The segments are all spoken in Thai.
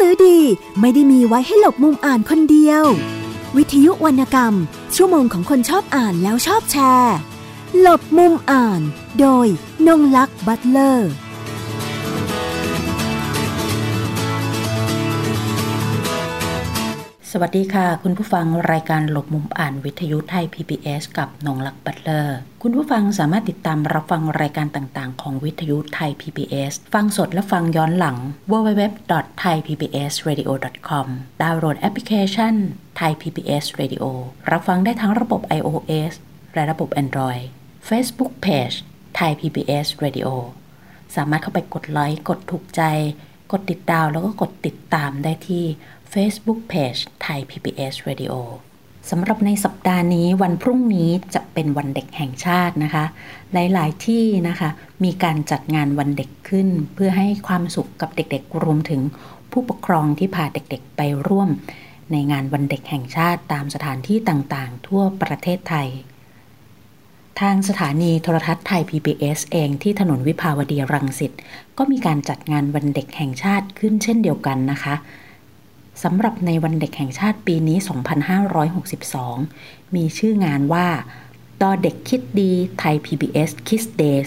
สือดีไม่ได้มีไว้ให้หลบมุมอ่านคนเดียววิทยุวรรณกรรมชั่วโมงของคนชอบอ่านแล้วชอบแชร์หลบมุมอ่านโดยนงลักษณ์บัตเลอร์สวัสดีค่ะคุณผู้ฟังรายการหลบมุมอ่านวิทยุไทย PBS กับนงลักษณ์บัตเลอร์คุณผู้ฟังสามารถติดตามรับฟังรายการต่างๆของวิทยุไทย PBS ฟังสดและฟังย้อนหลัง www.thaipbsradio.com ดาวน์โหลดแอปพลิเคชัน Thai PBS Radio รับฟังได้ทั้งระบบ iOS และระบบ Android Facebook Page Thai PBS Radio สามารถเข้าไปกดไลค์กดถูกใจกดติดดาวแล้วก็กดติดตามได้ที่Facebook Page Thai PBS Radio สำหรับในสัปดาห์นี้วันพรุ่งนี้จะเป็นวันเด็กแห่งชาตินะคะหลายๆที่นะคะมีการจัดงานวันเด็กขึ้นเพื่อให้ความสุขกับเด็กๆรวมถึงผู้ปกครองที่พาเด็กๆไปร่วมในงานวันเด็กแห่งชาติตามสถานที่ต่างๆทั่วประเทศไทยทางสถานีโทรทัศน์ไทย PBS เองที่ถนนวิภาวดีรังสิตก็มีการจัดงานวันเด็กแห่งชาติขึ้นเช่นเดียวกันนะคะสำหรับในวันเด็กแห่งชาติปีนี้ 2562 มีชื่องานว่าดอเด็กคิดดีไทย PBS Kids Day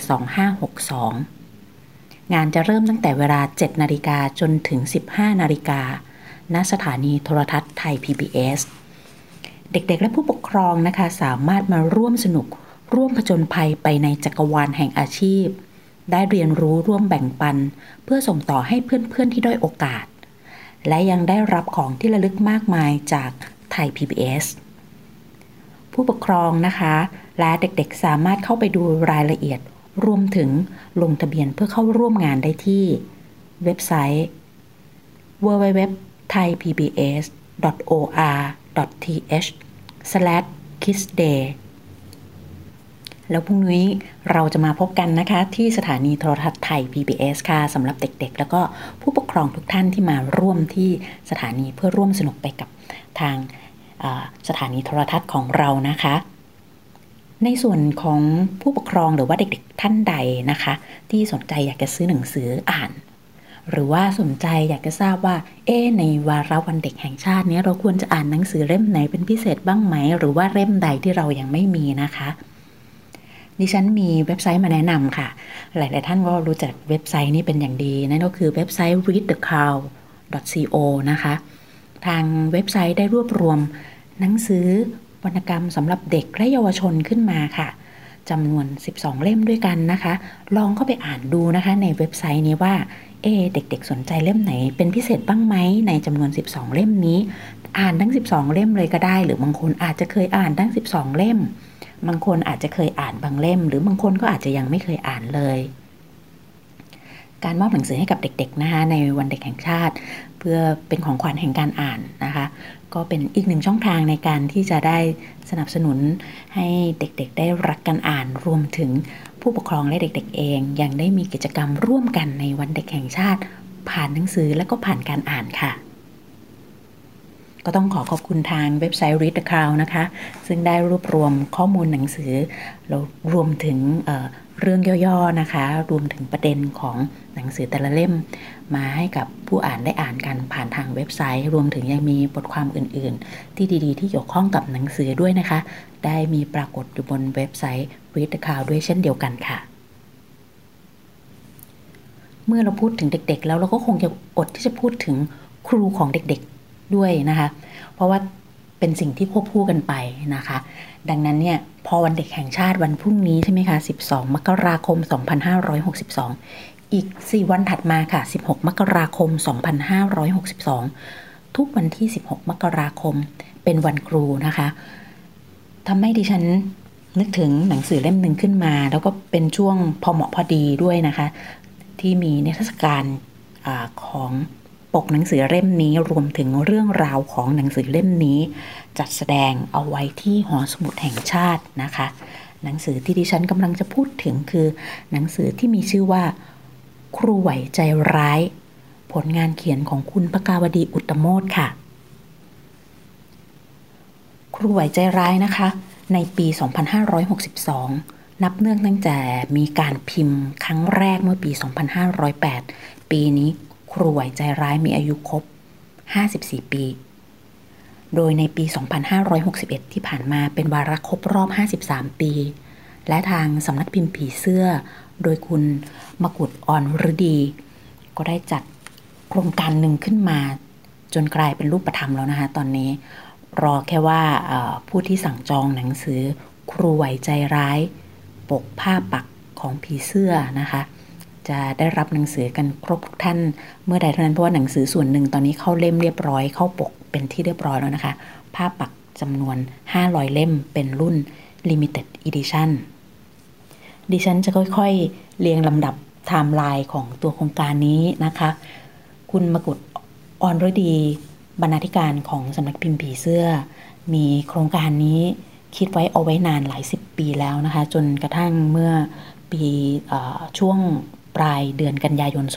2562 งานจะเริ่มตั้งแต่เวลา 7:00 น.จนถึง 15:00 น.ณ สถานีโทรทัศน์ไทย PBS เด็กๆและผู้ปกครองนะคะสามารถมาร่วมสนุกร่วมผจญภัยไปในจักรวาลแห่งอาชีพได้เรียนรู้ร่วมแบ่งปันเพื่อส่งต่อให้เพื่อนๆที่ด้อยโอกาสและยังได้รับของที่ระลึกมากมายจากไทย PBS ผู้ปกครองนะคะและเด็กๆสามารถเข้าไปดูรายละเอียดรวมถึงลงทะเบียนเพื่อเข้าร่วมงานได้ที่เว็บไซต์ www.thaipbs.or.th/kidsday แล้วพรุ่งนี้เราจะมาพบกันนะคะที่สถานีโทรทัศน์ไทย PBS ค่ะสำหรับเด็กๆแล้วก็ผู้ปกครองทุกท่านที่มาร่วมที่สถานีเพื่อร่วมสนุกไปกับทางสถานีโทรทัศน์ของเรานะคะในส่วนของผู้ปกครองหรือว่าเด็กๆท่านใดนะคะที่สนใจอยากจะซื้อหนังสืออ่านหรือว่าสนใจอยากจะทราบว่าในวาระวันเด็กแห่งชาตินี้เราควรจะอ่านหนังสือเล่มไหนเป็นพิเศษบ้างไหมหรือว่าเล่มใดที่เรายังไม่มีนะคะดิฉันมีเว็บไซต์มาแนะนำค่ะหลายๆท่านก็รู้จักเว็บไซต์นี้เป็นอย่างดีนั่นก็คือเว็บไซต์ readthecow.co นะคะทางเว็บไซต์ได้รวบรวมหนังสือวรรณกรรมสำหรับเด็กและเยาวชนขึ้นมาค่ะจำนวน12เล่มด้วยกันนะคะลองเข้าไปอ่านดูนะคะในเว็บไซต์นี้ว่าเด็กๆสนใจเล่มไหนเป็นพิเศษบ้างไหมในจำนวน12เล่มนี้อ่านทั้ง12เล่มเลยก็ได้หรือบางคนอาจจะเคยอ่านทั้ง12เล่มบางคนอาจจะเคยอ่านบางเล่มหรือบางคนก็อาจจะยังไม่เคยอ่านเลยการมอบหนังสือให้กับเด็กๆนะคะในวันเด็กแห่งชาติเพื่อเป็นของขวัญแห่งการอ่านนะคะก็เป็นอีกหนึ่งช่องทางในการที่จะได้สนับสนุนให้เด็กๆได้รักการอ่านรวมถึงผู้ปกครองและเด็กๆเองยังได้มีกิจกรรมร่วมกันในวันเด็กแห่งชาติผ่านหนังสือและก็ผ่านการอ่านค่ะก็ต้องขอขอบคุณทางเว็บไซต์ Read the Crown นะคะซึ่งได้รวบรวมข้อมูลหนังสือแล้วรวมถึงเรื่องย่อๆนะคะรวมถึงประเด็นของหนังสือแต่ละเล่มมาให้กับผู้อ่านได้อ่านกันผ่านทางเว็บไซต์รวมถึงยังมีบทความอื่นๆที่ดีๆที่เกี่ยวข้องกับหนังสือด้วยนะคะได้มีปรากฏอยู่บนเว็บไซต์ Read the Crown ด้วยเช่นเดียวกันค่ะเมื่อเราพูดถึงเด็กๆแล้วเราก็คงจะอดที่จะพูดถึงครูของเด็กๆด้วยนะคะเพราะว่าเป็นสิ่งที่ควบคู่กันไปนะคะดังนั้นเนี่ยพอวันเด็กแห่งชาติวันพรุ่งนี้ใช่ไหมคะ12 มกราคม 2562อีก4วันถัดมาค่ะ16 มกราคม 2562ทุกวันที่16 มกราคมเป็นวันครูนะคะทำให้ดิฉันนึกถึงหนังสือเล่มหนึ่งขึ้นมาแล้วก็เป็นช่วงพอเหมาะพอดีด้วยนะคะที่มีนิทรรศการของปกหนังสือเล่มนี้รวมถึงเรื่องราวของหนังสือเล่มนี้จัดแสดงเอาไว้ที่หอสมุดแห่งชาตินะคะหนังสือที่ดิฉันกำลังจะพูดถึงคือหนังสือที่มีชื่อว่าครูไหวใจร้ายผลงานเขียนของคุณภกาวดีอุตตโมทค่ะครูไหวใจร้ายนะคะในปี 2562 นับเนื่องตั้งแต่มีการพิมพ์ครั้งแรกเมื่อปี 2508 ปีนี้ครูไหวใจร้ายมีอายุครบ 54 ปี โดยในปี 2561 ที่ผ่านมาเป็นวาระครบรอบ 53 ปี และทางสำนักพิมพ์ผีเสื้อโดยคุณมกุฎ อ่อนฤดีก็ได้จัดโครงการหนึ่งขึ้นมาจนกลายเป็นรูปธรรมแล้วนะคะตอนนี้รอแค่ว่าผู้ที่สั่งจองหนังสือครูไหวใจร้ายปกผ้าปักของผีเสื้อนะคะจะได้รับหนังสือกันครบทุกท่านเมื่อใดเท่านั้นเพราะว่าหนังสือส่วนหนึ่งตอนนี้เข้าเล่มเรียบร้อยเข้าปกเป็นที่เรียบร้อยแล้วนะคะผ้าปักจำนวน500เล่มเป็นรุ่น Limited Edition ดิฉันจะค่อยๆเรียงลำดับไทม์ไลน์ของตัวโครงการนี้นะคะคุณมกุฎ อ่อนฤดีบรรณาธิการของสำนักพิมพ์ผีเสื้อมีโครงการนี้คิดไว้เอาไว้นานหลาย10 ปีแล้วนะคะจนกระทั่งเมื่อปีช่วงปลายเดือนกันยายน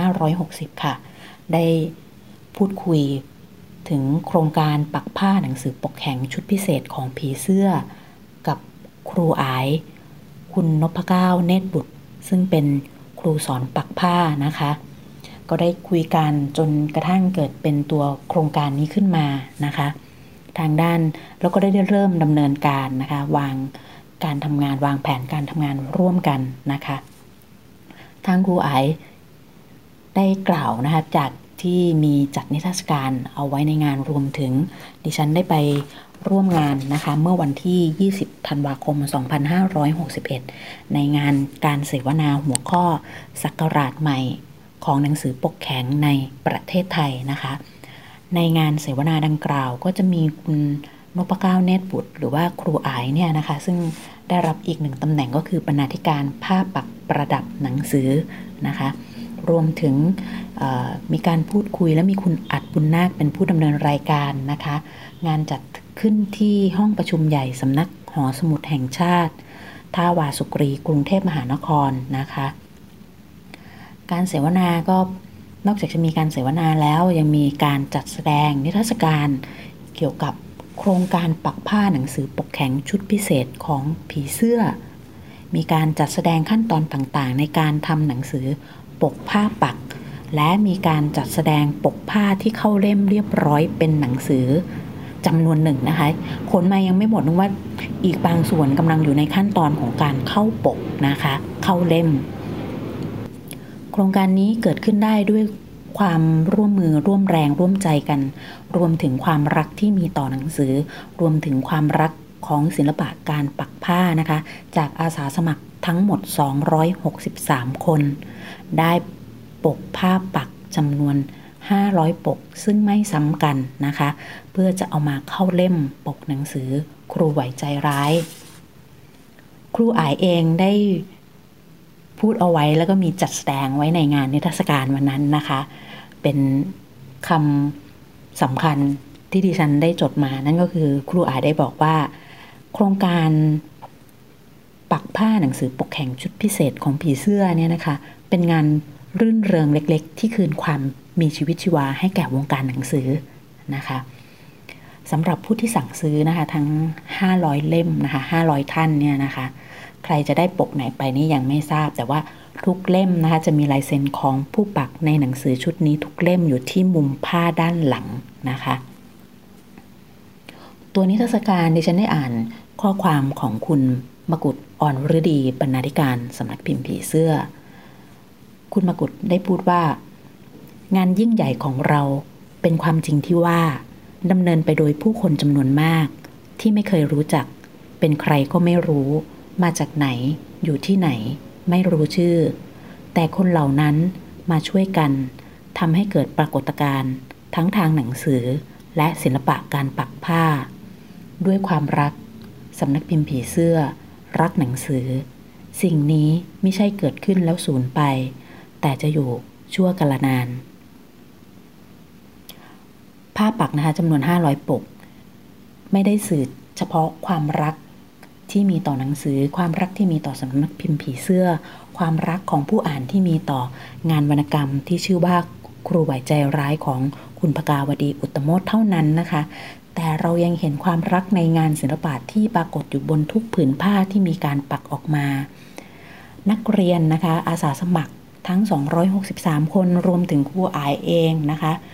2560 ค่ะได้พูดคุยถึงโครงการปักผ้าหนังสือปกแข็งชุดพิเศษของผีเสื้อกับครูอ๋ายคุณนพเก้าเนตรบุตรซึ่งเป็นครูสอนปักผ้านะคะก็ได้คุยกันจนกระทั่งเกิดเป็นตัวโครงการนี้ขึ้นมานะคะทางด้านแล้วก็ได้เริ่มดำเนินการนะคะวางการทำงานวางแผนการทำงานร่วมกันนะคะทางครูอ๋ายได้กล่าวนะคะจากที่มีจัดนิทรรศการเอาไว้ในงานรวมถึงดิฉันได้ไปร่วมงานนะคะเมื่อวันที่20ธันวาคม2561ในงานการเสวนาหัวข้อศักราชใหม่ของหนังสือปกแข็งในประเทศไทยนะคะในงานเสวนาดังกล่าวก็จะมีคุณนพเก้าเนตรบุตรหรือว่าครูอ๋ายเนี่ยนะคะซึ่งได้รับอีกหนึ่งตำแหน่งก็คือบรรณาธิการผ้าปักประดับหนังสือนะคะรวมถึงมีการพูดคุยและมีคุณอัดบุญนาคเป็นผู้ดำเนินรายการนะคะงานจัดขึ้นที่ห้องประชุมใหญ่สำนักหอสมุดแห่งชาติท่าวาสุกรีกรุงเทพมหานครนะคะการเสวนาก็นอกจากจะมีการเสวนาแล้วยังมีการจัดแสดงนิทรรศการเกี่ยวกับโครงการปักผ้าหนังสือปกแข็งชุดพิเศษของผีเสื้อมีการจัดแสดงขั้นตอนต่างๆในการทำหนังสือปกผ้าปักและมีการจัดแสดงปกผ้าที่เข้าเล่มเรียบร้อยเป็นหนังสือจำนวนหนึ่งนะคะขนมายังไม่หมดนึกว่าอีกบางส่วนกำลังอยู่ในขั้นตอนของการเข้าปกนะคะเข้าเล่มโครงการนี้เกิดขึ้นได้ด้วยความร่วมมือร่วมแรงร่วมใจกันรวมถึงความรักที่มีต่อหนังสือรวมถึงความรักของศิลปะการปักผ้านะคะจากอาสาสมัครทั้งหมด263คนได้ปกผ้าปักจำนวน500ปกซึ่งไม่ซ้ำกันนะคะเพื่อจะเอามาเข้าเล่มปกหนังสือครูไหวใจร้ายครูอ๋ายเองได้พูดเอาไว้แล้วก็มีจัดแสดงไว้ในงานนิทรรศการวันนั้นนะคะเป็นคำสำคัญที่ดิฉันได้จดมานั่นก็คือครูอ๋ายได้บอกว่าโครงการปักผ้าหนังสือปกแข็งชุดพิเศษของผีเสื้อเนี่ยนะคะเป็นงานรื่นเริงเล็กๆที่คืนความมีชีวิตชีวาให้แก่วงการหนังสือนะคะสำหรับผู้ที่สั่งซื้อนะคะทั้ง500เล่มนะคะ500ท่านเนี่ยนะคะใครจะได้ปกไหนไปนี่ยังไม่ทราบแต่ว่าทุกเล่มนะคะจะมีลายเซ็นของผู้ปักในหนังสือชุดนี้ทุกเล่มอยู่ที่มุมผ้าด้านหลังนะคะตัวนิทรรศการดิฉันได้อ่านข้อความของคุณมกุฎ อ่อนฤดีบรรณาธิการสำนักพิมพ์ผีเสื้อคุณมกุฎได้พูดว่างานยิ่งใหญ่ของเราเป็นความจริงที่ว่าดำเนินไปโดยผู้คนจำนวนมากที่ไม่เคยรู้จักเป็นใครก็ไม่รู้มาจากไหนอยู่ที่ไหนไม่รู้ชื่อแต่คนเหล่านั้นมาช่วยกันทำให้เกิดปรากฏการณ์ทั้งทางหนังสือและศิลปะการปักผ้าด้วยความรักสำนักพิมพ์ผีเสื้อรักหนังสือสิ่งนี้ไม่ใช่เกิดขึ้นแล้วสูญไปแต่จะอยู่ชั่วกาลนานผ้าปักนะคะจำนวน500ปกไม่ได้สื่อเฉพาะความรักที่มีต่อหนังสือความรักที่มีต่อสำนักพิมพ์ผีเสื้อความรักของผู้อ่านที่มีต่องานวรรณกรรมที่ชื่อว่าครูไหวใจร้ายของคุณภกาวดีอุตตโมทเท่านั้นนะคะแต่เรายังเห็นความรักในงานศิลปะที่ปรากฏอยู่บนทุกผืนผ้าที่มีการปักออกมานักเรียนนะคะอาสาสมัครทั้ง263คนรวมถึงครูอ๋ายเองนะคะ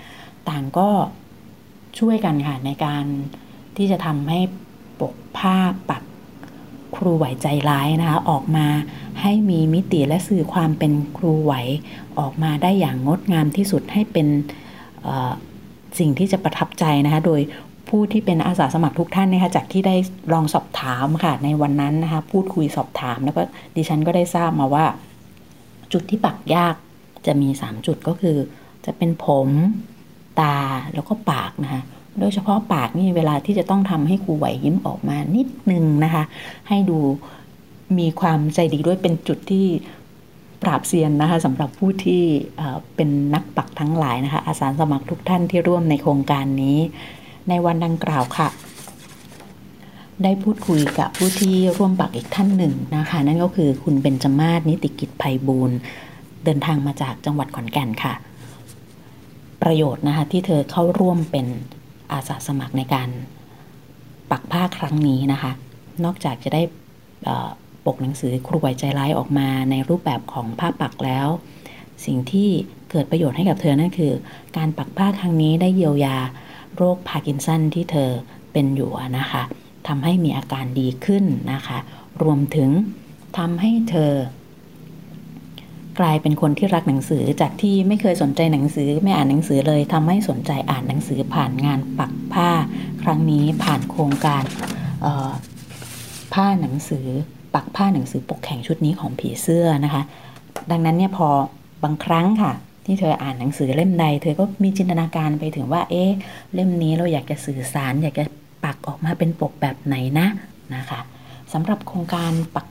ต่างก็ช่วยกันค่ะในการที่จะทำให้ปกผ้าปักครูไหวใจร้ายนะคะออกมาให้มีมิติและสื่อความเป็นครูไหวออกมาได้อย่างงดงามที่สุดให้เป็นสิ่งที่จะประทับใจนะคะโดยผู้ที่เป็นอาสาสมัครทุกท่านนะคะจากที่ได้ลองสอบถามค่ะในวันนั้นนะคะพูดคุยสอบถามแล้วก็ดิฉันก็ได้ทราบมาว่าจุดที่ปักยากจะมี3จุดก็คือจะเป็นผมตาแล้วก็ปากนะคะโดยเฉพาะปากนี่เวลาที่จะต้องทำให้ครูไหวยิ้มออกมานิดนึงนะคะให้ดูมีความใจดีด้วยเป็นจุดที่ปราบเซียนนะคะสำหรับผู้ที่เป็นนักปักทั้งหลายนะคะอาสาสมัครทุกท่านที่ร่วมในโครงการนี้ในวันดังกล่าวค่ะได้พูดคุยกับผู้ที่ร่วมปักอีกท่านหนึ่งนะคะนั่นก็คือคุณเบญจมาศนิติกิจไพบูลย์เดินทางมาจากจังหวัดขอนแก่นค่ะประโยชน์นะคะที่เธอเข้าร่วมเป็นอาสาสมัครในการปักผ้าครั้งนี้นะคะนอกจากจะได้ปกหนังสือครูไหวใจร้ายออกมาในรูปแบบของผ้าปักแล้วสิ่งที่เกิดประโยชน์ให้กับเธอนั่นคือการปักผ้าครั้งนี้ได้เยียวยาโรคพาร์กินสันที่เธอเป็นอยู่นะคะทำให้มีอาการดีขึ้นนะคะรวมถึงทำให้เธอกลายเป็นคนที่รักหนังสือจากที่ไม่เคยสนใจหนังสือไม่อ่านหนังสือเลยทำให้สนใจอ่านหนังสือผ่านงานปักผ้าครั้งนี้ผ่านโครงการผ้าหนังสือปักผ้าหนังสือปกแข่งชุดนี้ของผีเสื้อนะคะดังนั้นเนี่ยพอบางครั้งค่ะที่เธออ่านหนังสือเล่มใดเธอก็มีจินตนาการไปถึงว่าเล่มนี้เราอยากจะสื่อสารอยากจะปักออกมาเป็นปกแบบไหนนะคะสำหรับโครงการปัก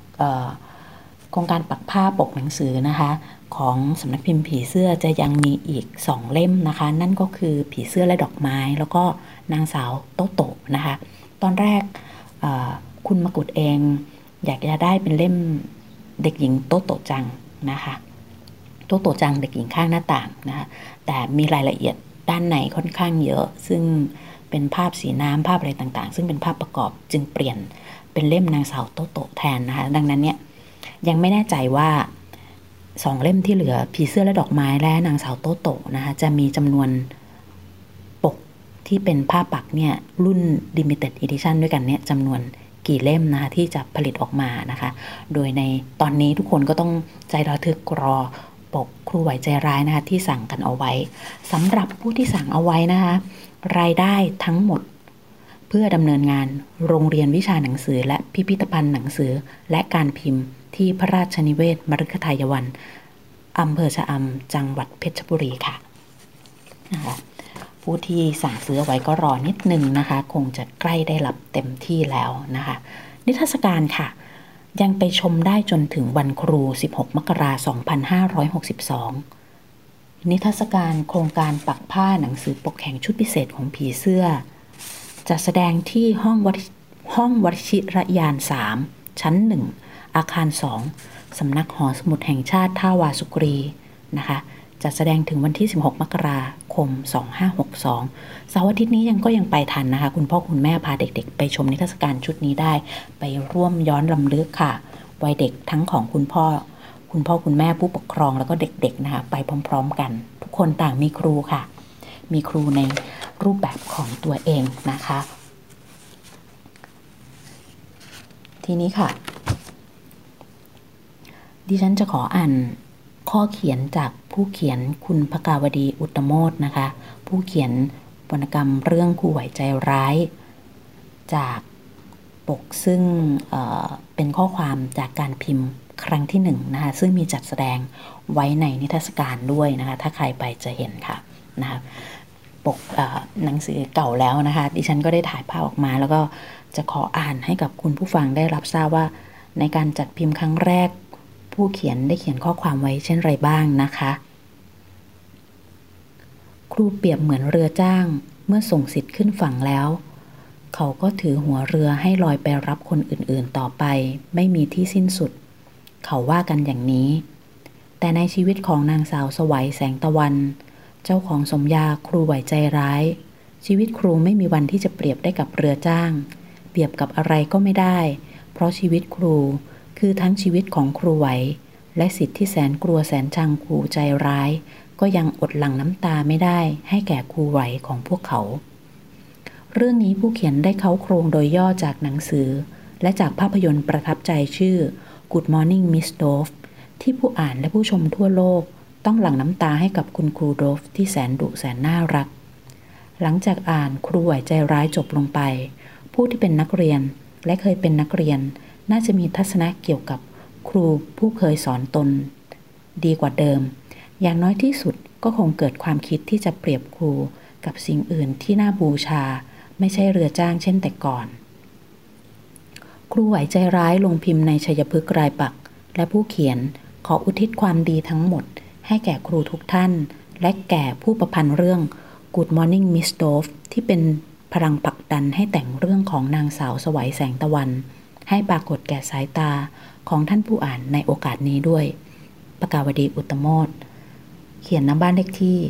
ผ้าปกหนังสือนะคะของสำนักพิมพ์ผีเสื้อจะยังมีอีก2เล่มนะคะนั่นก็คือผีเสื้อและดอกไม้แล้วก็นางสาวโตโตะนะคะตอนแรกคุณมกุฎเองอยากจะได้เป็นเล่มเด็กหญิงโตโตะจังนะคะโตโตะจังเด็กหญิงข้างหน้าต่างนะคะแต่มีรายละเอียดด้านในค่อนข้างเยอะซึ่งเป็นภาพสีน้ำภาพอะไรต่างๆซึ่งเป็นภาพประกอบจึงเปลี่ยนเป็นเล่มนางสาวโตโตะแทนนะคะดังนั้นเนี่ยยังไม่แน่ใจว่า2เล่มที่เหลือผีเสื้อและดอกไม้และนางสาวโตโตะนะคะจะมีจำนวนปกที่เป็นผ้าปักเนี่ยรุ่น limited edition ด้วยกันเนี่ยจำนวนกี่เล่มนะคะที่จะผลิตออกมานะคะโดยในตอนนี้ทุกคนก็ต้องใจระทึกรอปกครูไหวใจร้ายนะคะที่สั่งกันเอาไว้สำหรับผู้ที่สั่งเอาไว้นะคะรายได้ทั้งหมดเพื่อดำเนินงานโรงเรียนวิชาหนังสือและพิพิธภัณฑ์หนังสือและการพิมพ์ที่พระราชนิเวศมฤคทายวันอำเภอชะอำจังหวัดเพชรบุรีค่ะนะคะผู้ที่สั่งซื้อไว้ก็รอนิดนึงนะคะคงจะใกล้ได้รับเต็มที่แล้วนะคะนิทรรศการค่ะยังไปชมได้จนถึงวันครู16มกราคม2562นิทรรศการโครงการปักผ้าหนังสือปกแข่งชุดพิเศษของผีเสื้อจะแสดงที่ห้องวชิรยาน3ชั้น1อาคาร2สำนักหอสมุดแห่งชาติท่าวาสุกรีนะคะจะแสดงถึงวันที่16มกราคม2562เสาร์อาทิตย์นี้ก็ยังไปทันนะคะคุณพ่อคุณแม่พาเด็กๆไปชมนิทรรศการชุดนี้ได้ไปร่วมย้อนรำลึกค่ะวัยเด็กทั้งของคุณพ่อคุณแม่ผู้ปกครองแล้วก็เด็กๆนะคะไปพร้อมๆกันทุกคนต่างมีครูค่ะมีครูในรูปแบบของตัวเองนะคะทีนี้ค่ะดิฉันจะขออ่านข้อเขียนจากผู้เขียนคุณภกาวดีอุตตโมทนะคะผู้เขียนวรรณกรรมเรื่องครูไหวใจร้ายจากปกซึ่งเป็นข้อความจากการพิมพ์ครั้งที่1นะคะซึ่งมีจัดแสดงไว้ในนิทรรศการด้วยนะคะถ้าใครไปจะเห็นค่ะนะคะปกหนังสือเก่าแล้วนะคะดิฉันก็ได้ถ่ายภาพออกมาแล้วก็จะขออ่านให้กับคุณผู้ฟังได้รับทราบว่าในการจัดพิมพ์ครั้งแรกผู้เขียนได้เขียนข้อความไว้เช่นไรบ้างนะคะครูเปรียบเหมือนเรือจ้างเมื่อส่งสิทธิ์ขึ้นฝั่งแล้วเขาก็ถือหัวเรือให้ลอยไปรับคนอื่นๆต่อไปไม่มีที่สิ้นสุดเขาว่ากันอย่างนี้แต่ในชีวิตของนางสาวสวัยแสงตะวันเจ้าของสมญาครูไหวใจร้ายชีวิตครูไม่มีวันที่จะเปรียบได้กับเรือจ้างเปรียบกับอะไรก็ไม่ได้เพราะชีวิตครูคือทั้งชีวิตของครูไหวและสิทธิ์ที่แสนกลัวแสนชังครูใจร้ายก็ยังอดหลั่งน้ำตาไม่ได้ให้แก่ครูไหวของพวกเขาเรื่องนี้ผู้เขียนได้เค้าโครงโดยย่อจากหนังสือและจากภาพยนตร์ประทับใจชื่อ Good Morning Miss Dove ที่ผู้อ่านและผู้ชมทั่วโลกต้องหลั่งน้ำตาให้กับคุณครูโดฟที่แสนดุแสนน่ารักหลังจากอ่านครูไหวใจร้ายจบลงไปผู้ที่เป็นนักเรียนและเคยเป็นนักเรียนน่าจะมีทัศนะเกี่ยวกับครูผู้เคยสอนตนดีกว่าเดิมอย่างน้อยที่สุดก็คงเกิดความคิดที่จะเปรียบครูกับสิ่งอื่นที่น่าบูชาไม่ใช่เรือจ้างเช่นแต่ก่อนครูไหวใจร้ายลงพิมพ์ในชัยพฤกษ์รายปักษ์และผู้เขียนขออุทิศความดีทั้งหมดให้แก่ครูทุกท่านและแก่ผู้ประพันธ์เรื่อง Good Morning Miss Dove ที่เป็นพลังผลักดันให้แต่งเรื่องของนางสาวไสวแสงตะวันให้ปรากฏแก่สายตาของท่านผู้อ่านในโอกาสนี้ด้วยปกาวดีอุตตโมทเขียนณบ้านเลขที่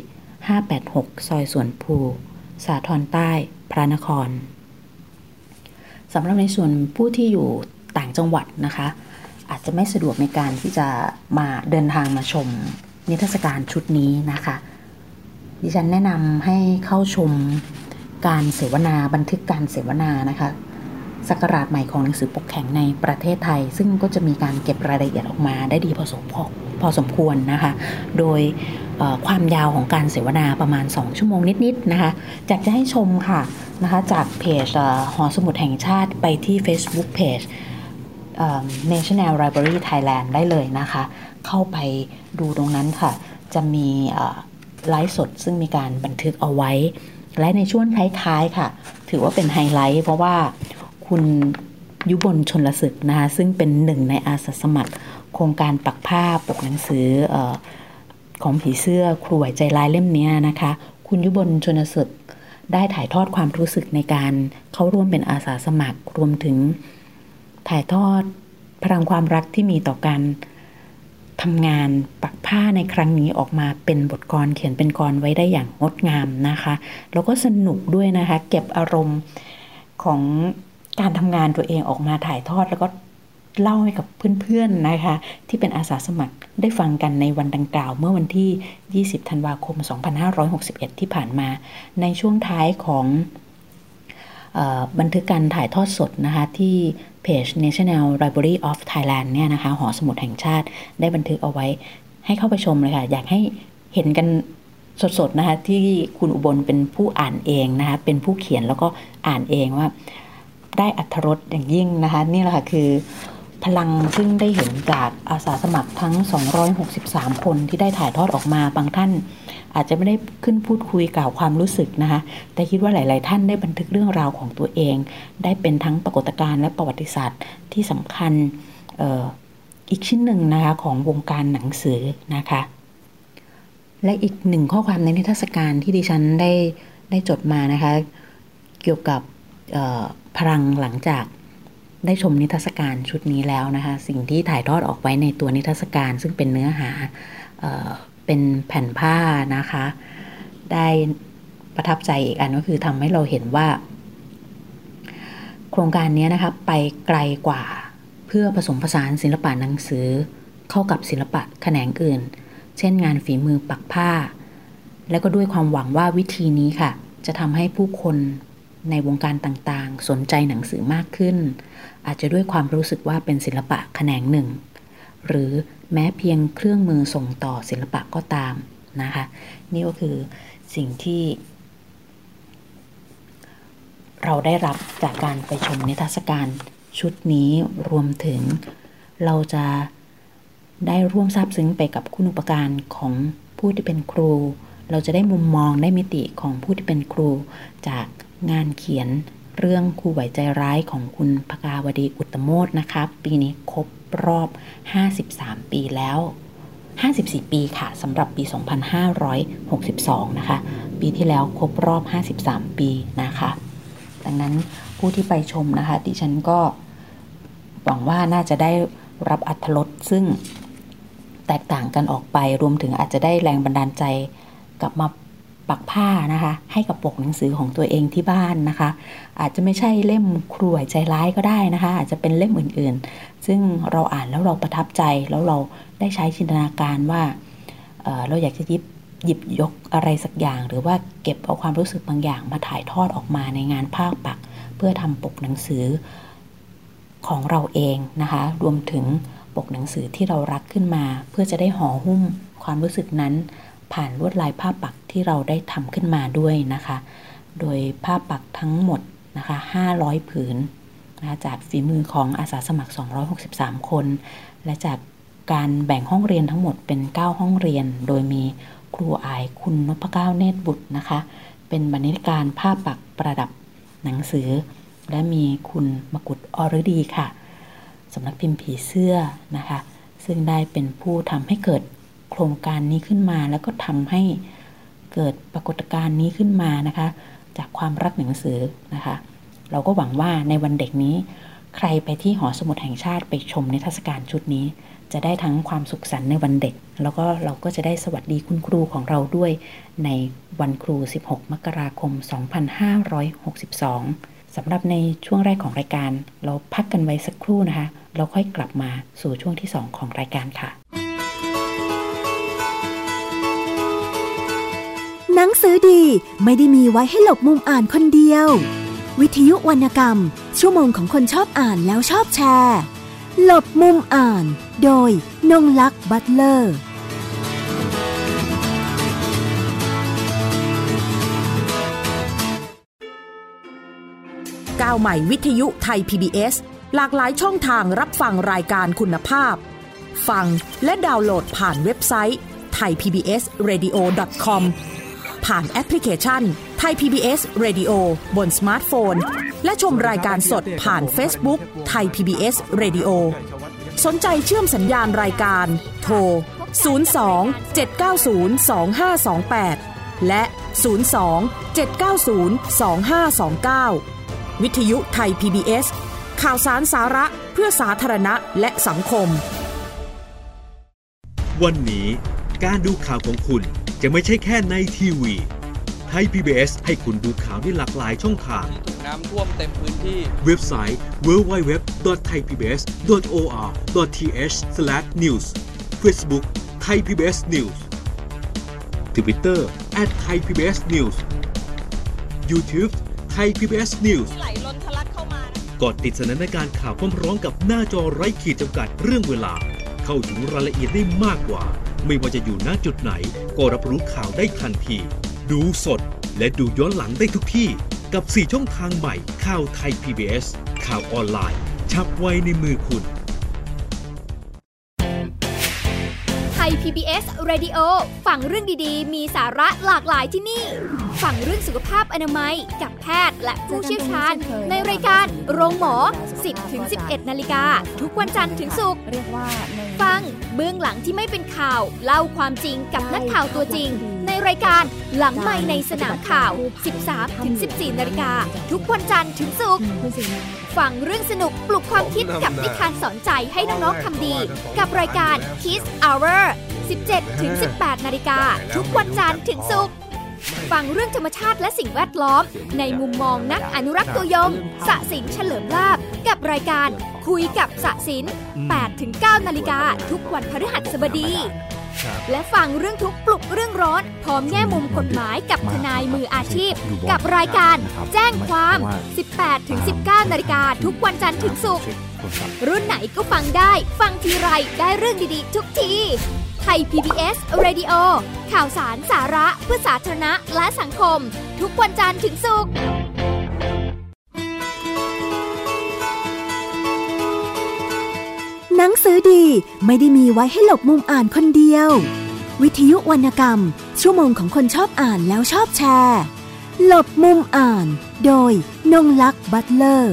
586ซอยสวนภูสาทรใต้พระนครสำหรับในส่วนผู้ที่อยู่ต่างจังหวัดนะคะอาจจะไม่สะดวกในการที่จะมาเดินทางมาชมนิทรรศการชุดนี้นะคะดิฉันแนะนำให้เข้าชมการเสวนาบันทึกการเสวนานะคะศักราชใหม่ของหนังสือปกแข็งในประเทศไทยซึ่งก็จะมีการเก็บรายละเอียดออกมาได้ดีพอสมควรนะคะโดยความยาวของการเสวนาประมาณ2ชั่วโมงนิดๆนะคะอยากจะให้ชมค่ะนะคะจากเพจหอสมุดแห่งชาติไปที่ Facebook Page National Library Thailand ได้เลยนะคะเข้าไปดูตรงนั้นค่ะจะมีไลฟ์สดซึ่งมีการบันทึกเอาไว้และในช่วงท้ายๆค่ะถือว่าเป็นไฮไลท์เพราะว่าคุณยุบลชลศึกนะคะซึ่งเป็นหนึ่งในอาสาสมัครโครงการปักผ้าปกหนังสือของผีเสื้อครูไหวใจร้ายเล่มนี้นะคะคุณยุบลชลศึกได้ถ่ายทอดความรู้สึกในการเข้าร่วมเป็นอาสาสมัครรวมถึงถ่ายทอดพลังความรักที่มีต่อการทำงานปักผ้าในครั้งนี้ออกมาเป็นบทกลอนเขียนเป็นกลอนไว้ได้อย่างงดงามนะคะแล้วก็สนุกด้วยนะคะเก็บอารมณ์ของการทำงานตัวเองออกมาถ่ายทอดแล้วก็เล่าให้กับเพื่อนๆนะคะที่เป็นอาสาสมัครได้ฟังกันในวันดังกล่าวเมื่อวันที่20ธันวาคม2561ที่ผ่านมาในช่วงท้ายของบันทึกการถ่ายทอดสดนะคะที่เพจ National Library of Thailand เนี่ยนะคะหอสมุดแห่งชาติได้บันทึกเอาไว้ให้เข้าไปชมเลยค่ะอยากให้เห็นกันสดๆนะคะที่คุณอุบลเป็นผู้อ่านเองนะคะเป็นผู้เขียนแล้วก็อ่านเองว่าได้อรรถรสอย่างยิ่งนะคะนี่แหละค่ะคือพลังซึ่งได้เห็นจากอาสาสมัครทั้ง263คนที่ได้ถ่ายทอดออกมาบางท่านอาจจะไม่ได้ขึ้นพูดคุยกล่าวความรู้สึกนะคะแต่คิดว่าหลายๆท่านได้บันทึกเรื่องราวของตัวเองได้เป็นทั้งปรากฏการณ์และประวัติศาสตร์ที่สำคัญอีกชิ้นหนึ่งนะคะของวงการหนังสือนะคะและอีกหนึ่งข้อความในนิทรรศการที่ดิฉันได้จดมานะคะเกี่ยวกับพลังหลังจากได้ชมนิทรรศการชุดนี้แล้วนะคะสิ่งที่ถ่ายทอดออกไว้ในตัวนิทรรศการซึ่งเป็นเนื้อหาเป็นแผ่นผ้านะคะได้ประทับใจอีกอันก็คือทำให้เราเห็นว่าโครงการนี้นะคะไปไกลกว่าเพื่อผสมผสานศิลปะหนังสือเข้ากับศิลปะแขนงอื่นเช่นงานฝีมือปักผ้าและก็ด้วยความหวังว่าวิธีนี้ค่ะจะทำให้ผู้คนในวงการต่างๆสนใจหนังสือมากขึ้นอาจจะด้วยความรู้สึกว่าเป็นศิลปะแขนงหนึ่งหรือแม้เพียงเครื่องมือส่งต่อศิลปะก็ตามนะคะนี่ก็คือสิ่งที่เราได้รับจากการไปชมนิทรรศการชุดนี้รวมถึงเราจะได้ร่วมซาบซึ้งไปกับคุณูปการของผู้ที่เป็นครูเราจะได้มุมมองได้มิติของผู้ที่เป็นครูจากงานเขียนเรื่องครูไหวใจร้ายของคุณภกาวดีอุตตโมทนะคะปีนี้ครบรอบ53ปีแล้ว54ปีค่ะสำหรับปี2562นะคะปีที่แล้วครบรอบ53ปีนะคะดังนั้นผู้ที่ไปชมนะคะดิฉันก็หวังว่าน่าจะได้รับอรรถรสซึ่งแตกต่างกันออกไปรวมถึงอาจจะได้แรงบันดาลใจกลับมาปักผ้านะคะให้กับปกหนังสือของตัวเองที่บ้านนะคะอาจจะไม่ใช่เล่มครูไหวใจร้ายก็ได้นะคะอาจจะเป็นเล่มอื่นๆซึ่งเราอ่านแล้วเราประทับใจแล้วเราได้ใช้จินตนาการว่าเราอยากจะหยิบหยิบยกอะไรสักอย่างหรือว่าเก็บเอาความรู้สึกบางอย่างมาถ่ายทอดออกมาในงานภาคปักเพื่อทำปกหนังสือของเราเองนะคะรวมถึงปกหนังสือที่เรารักขึ้นมาเพื่อจะได้ห่อหุ้มความรู้สึกนั้นผ่านลวดลายภาพปักที่เราได้ทำขึ้นมาด้วยนะคะโดยภาพปักทั้งหมดนะคะ500ผืนนะคะจากฝีมือของอาสาสมัคร263คนและจากการแบ่งห้องเรียนทั้งหมดเป็น9ห้องเรียนโดยมีครูอายคุณนพเก้าเนตรบุตรนะคะเป็นบรรณาธิการภาพปักประดับหนังสือและมีคุณมกุฎอฤดีค่ะสำนักพิมพ์ผีเสื้อนะคะซึ่งได้เป็นผู้ทำให้เกิดโครงการนี้ขึ้นมาแล้วก็ทำให้เกิดปรากฏการณ์นี้ขึ้นมานะคะจากความรักหนังสือนะคะเราก็หวังว่าในวันเด็กนี้ใครไปที่หอสมุดแห่งชาติไปชมนิทรรศการชุดนี้จะได้ทั้งความสุขสันต์ในวันเด็กแล้วก็เราก็จะได้สวัสดีคุณครูของเราด้วยในวันครู16มกราคม2562สำหรับในช่วงแรกของรายการเราพักกันไว้สักครู่นะคะเราค่อยกลับมาสู่ช่วงที่2ของรายการค่ะหนังสือดีไม่ได้มีไว้ให้หลบมุมอ่านคนเดียววิทยุวรรณกรรมชั่วโมงของคนชอบอ่านแล้วชอบแชร์หลบมุมอ่านโดยนงลักษณ์บัตเลอร์ก้าวใหม่วิทยุไทย PBS หลากหลายช่องทางรับฟังรายการคุณภาพฟังและดาวน์โหลดผ่านเว็บไซต์ thaipbsradio.com ผ่านแอปพลิเคชัน Thai PBS Radio บนสมาร์ทโฟนและชมรายการสดผ่าน Facebook Thai PBS Radio สนใจเชื่อมสัญญาณรายการโทร 02-790-2528 และ 02-790-2529 วิทยุไทย PBS ข่าวสารสาระเพื่อสาธารณะและสังคมวันนี้การดูข่าวของคุณจะไม่ใช่แค่ในทีวีไทย PBS ให้คุณดูข่าวได้หลากหลายช่องทางถูกน้ำท่วมเต็มพื้นที่เว็บไซต์ www.thaipbs.or.th/news Facebook Thai PBS News Twitter @thaipbsnews YouTube Thai PBS News ไหลล้นทะลักเข้ามานะกดติดสนันในการข่าวพร้อมๆกับหน้าจอไร้ขีดจำกัดเรื่องเวลาเข้าถึงรายละเอียดได้มากกว่าไม่ว่าจะอยู่ณจุดไหนก็รับรู้ข่าวได้ทันทีดูสดและดูย้อนหลังได้ทุกที่กับ4ช่องทางใหม่ข่าวไทย PBS ข่าวออนไลน์ชับไว้ในมือคุณไทย PBS Radio ฟังเรื่องดีๆมีสาระหลากหลายที่นี่ฟังเรื่องสุขภาพอนามัยกับแพทย์และผู้เชี่ยวชาญในรายการโรงหมอ 10-11 นาฬิกาทุกวันจันทร์ถึงศุกร์ฟังเบื้องหลังที่ไม่เป็นข่าวเล่าความจริงกับนักข่าวตัวจริงในรายการหลังไมค์ในสนามข่าว 13-14 นาฬิกาทุกวันจันทร์ถึงศุกร์ฟังเรื่องสนุกปลุกความคิดกับนิทานสอนใจให้น้องๆทำดีกับรายการ Kids Hour 17-18 นาฬิกาทุกวันจันทร์ถึงศุกร์ฟังเรื่องธรรมชาติและสิ่งแวดล้อมในมุมมองนักอนุรักษ์ตัวยงสศิลป์เฉลิมลาภกับรายการคุยกับสศิลป์ 8-9 นาฬิกาทุกวันพฤหัสบดีและฟังเรื่องทุกข์ปลุกเรื่องร้อนพร้อมแง่มุมกฎหมายกับทนายมืออาชีพกับรายการแจ้งความ 18-19 นาฬิกาทุกวันจันทร์ถึงศุกร์รุ่นไหนก็ฟังได้ฟังทีไรได้เรื่องดีๆทุกทีไทย PBS Radio ข่าวสารสาระเพื่อสาธารณะและสังคมทุกวันจันทร์ถึงศุกร์หนังสือดีไม่ได้มีไว้ให้หลบมุมอ่านคนเดียววิทยุวรรณกรรมชั่วโมงของคนชอบอ่านแล้วชอบแชร์หลบมุมอ่านโดยนงลักษณ์บัตเลอร์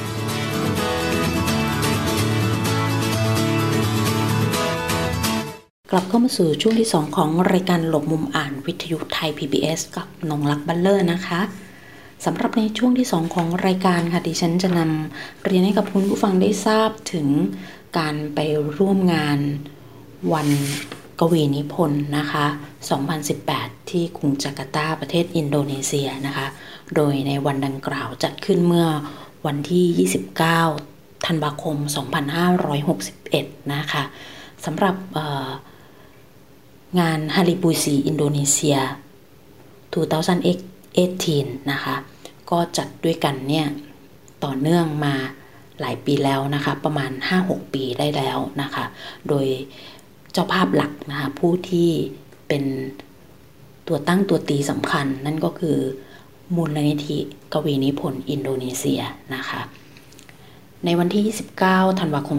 กลับเข้ามาสู่ช่วงที่2ของรายการหลบมุมอ่านวิทยุไทย PBS กับนงลักษณ์บัตเลอร์นะคะสำหรับในช่วงที่2ของรายการค่ะดิฉันจะนำเรียนให้กับคุณผู้ฟังได้ทราบถึงการไปร่วมงานวันกวีนิพนธ์นะคะ2018ที่กรุงจาการ์ตาประเทศอินโดนีเซียนะคะโดยในวันดังกล่าวจัดขึ้นเมื่อวันที่29ธันวาคม2561นะคะสำหรับงานฮาริปุซีอินโดนีเซีย 2018 นะคะก็จัดด้วยกันเนี่ยต่อเนื่องมาหลายปีแล้วนะคะประมาณ 5-6 ปีได้แล้วนะคะโดยเจ้าภาพหลักนะคะผู้ที่เป็นตัวตั้งตัวตีสำคัญนั่นก็คือมูลนิธิกวีนิพนธ์อินโดนีเซียนะคะในวันที่29ธันวาคม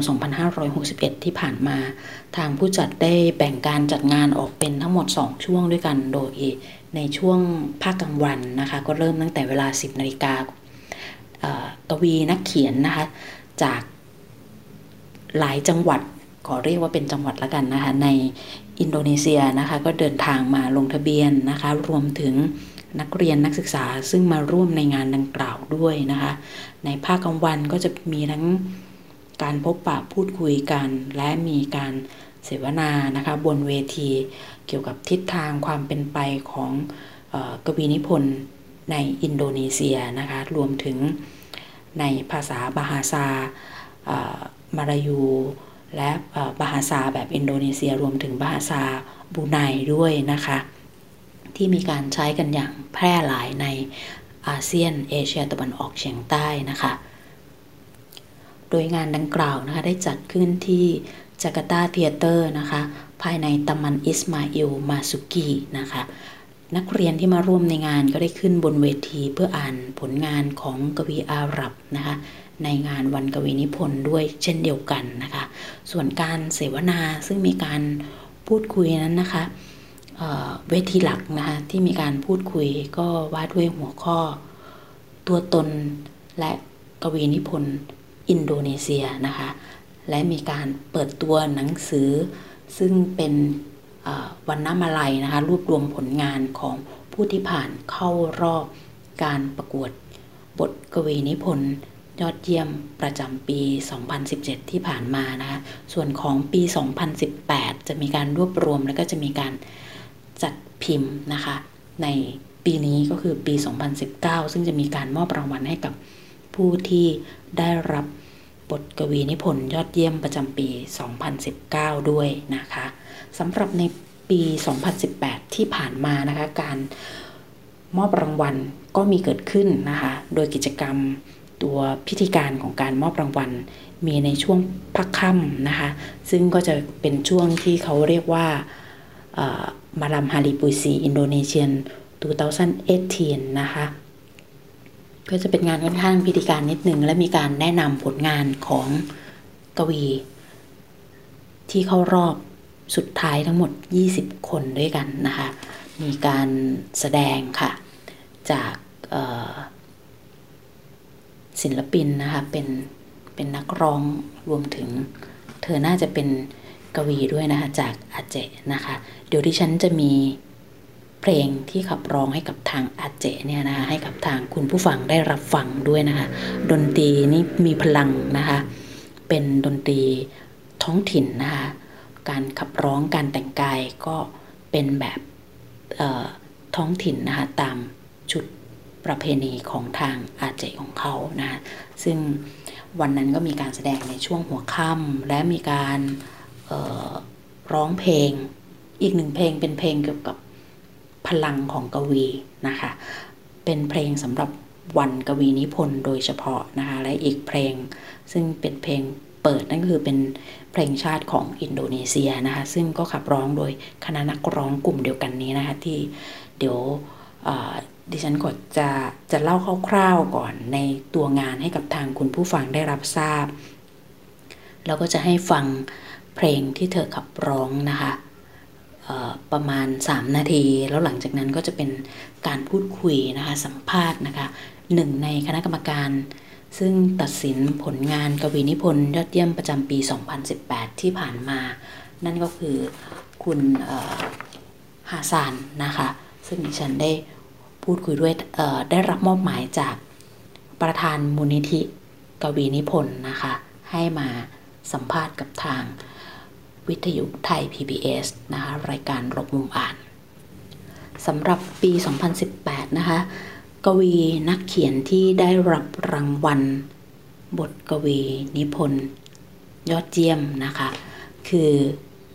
2561ที่ผ่านมาทางผู้จัดได้แบ่งการจัดงานออกเป็นทั้งหมด2ช่วงด้วยกันโดยในช่วงภาคกลางวันนะคะก็เริ่มตั้งแต่เวลา 10 นาฬิกากวีนักเขียนนะคะจากหลายจังหวัดขอเรียกว่าเป็นจังหวัดละกันนะคะในอินโดนีเซียนะคะก็เดินทางมาลงทะเบียนนะคะรวมถึงนักเรียนนักศึกษาซึ่งมาร่วมในงานดังกล่าวด้วยนะคะในภาคกลางวันก็จะมีทั้งการพบปะพูดคุยกันและมีการเสวนานะคะบนเวทีเกี่ยวกับทิศทางความเป็นไปของกวีนิพนธ์ในอินโดนีเซียนะคะรวมถึงในภาษาบาฮาซามาลายูและบาฮาซาแบบอินโดนีเซียรวมถึงบาฮาซาบรูไนด้วยนะคะที่มีการใช้กันอย่างแพร่หลายในอาเซียนเอเชียตะวันออกเฉียงใต้นะคะโดยงานดังกล่าวนะคะได้จัดขึ้นที่จาการ์ตาเธียเตอร์นะคะภายในตัมมันอิสมาอิลมาซุกีนะคะนักเรียนที่มาร่วมในงานก็ได้ขึ้นบนเวทีเพื่ออ่านผลงานของกวีอาหรับนะคะในงานวันกวีนิพนธ์ด้วยเช่นเดียวกันนะคะส่วนการเสวนาซึ่งมีการพูดคุยนั้นนะคะเวทีหลักนะคะที่มีการพูดคุยก็ว่าด้วยหัวข้อตัวตนและกวีนิพนธ์อินโดนีเซียนะคะและมีการเปิดตัวหนังสือซึ่งเป็นวรรณมาลัยนะคะรวบรวมผลงานของผู้ที่ผ่านเข้ารอบการประกวดบทกวีนิพนธ์ยอดเยี่ยมประจำปี 2017 ที่ผ่านมานะคะส่วนของปี 2018 จะมีการรวบรวมแล้วก็จะมีการจัดพิมพ์นะคะในปีนี้ก็คือปี 2019 ซึ่งจะมีการมอบรางวัลให้กับผู้ที่ได้รับบทกวีนิพนธ์ยอดเยี่ยมประจำปี 2019 ด้วยนะคะสำหรับในปี 2018 ที่ผ่านมานะคะการมอบรางวัลก็มีเกิดขึ้นนะคะโดยกิจกรรมตัวพิธีการของการมอบรางวัลมีในช่วงพักค่ำนะคะซึ่งก็จะเป็นช่วงที่เขาเรียกว่ามาลัมฮาริปุซีอินโดนีเซียน 2018 นะคะก็จะเป็นงานค่อนข้างพิธีการนิดนึงและมีการแนะนำผลงานของกวีที่เข้ารอบสุดท้ายทั้งหมด20 คนด้วยกันนะคะมีการแสดงค่ะจากศิลปินนะคะเป็นนักร้องรวมถึงเธอน่าจะเป็นกวีด้วยนะคะจากอาเจนะคะเดี๋ยวดิฉันจะมีเพลงที่ขับร้องให้กับทางอาเจเนี่ยนะคะให้กับทางคุณผู้ฟังได้รับฟังด้วยนะคะดนตรีนี่มีพลังนะคะเป็นดนตรีท้องถิ่นนะคะการขับร้องการแต่งกายก็เป็นแบบท้องถิ่นนะคะตามชุดประเพณีของทางอาเจของเขานะซึ่งวันนั้นก็มีการแสดงในช่วงหัวค่ำและมีการร้องเพลงอีกหนึ่งเพลงเป็นเพลงเกี่ยวกับพลังของกวีนะคะเป็นเพลงสำหรับวันกวีนิพนธ์โดยเฉพาะนะคะและอีกเพลงซึ่งเป็นเพลงเปิดนั่นคือเป็นเพลงชาติของอินโดนีเซียนะคะซึ่งก็ขับร้องโดยคณะนักร้องกลุ่มเดียวกันนี้นะคะที่เดี๋ยวดิฉันก็จะเล่าคร่าวๆก่อนในตัวงานให้กับทางคุณผู้ฟังได้รับทราบแล้วก็จะให้ฟังเพลงที่เธอขับร้องนะคะประมาณ3 นาทีแล้วหลังจากนั้นก็จะเป็นการพูดคุยนะคะสัมภาษณ์นะคะหนึ่งในคณะกรรมการซึ่งตัดสินผลงานกวีนิพนธ์ยอดเยี่ยมประจำปี 2018 ที่ผ่านมานั่นก็คือคุณฮาซานนะคะซึ่งดิฉันได้พูดคุยด้วยได้รับมอบหมายจากประธานมูลนิธิกวีนิพนธ์นะคะให้มาสัมภาษณ์กับทางวิทยุไทย PBS นะคะรายการรบมุมอ่านสำหรับปี 2018 นะคะกวีนักเขียนที่ได้รับรางวัลบทกวีนิพนธ์ยอดเยี่ยมนะคะคือ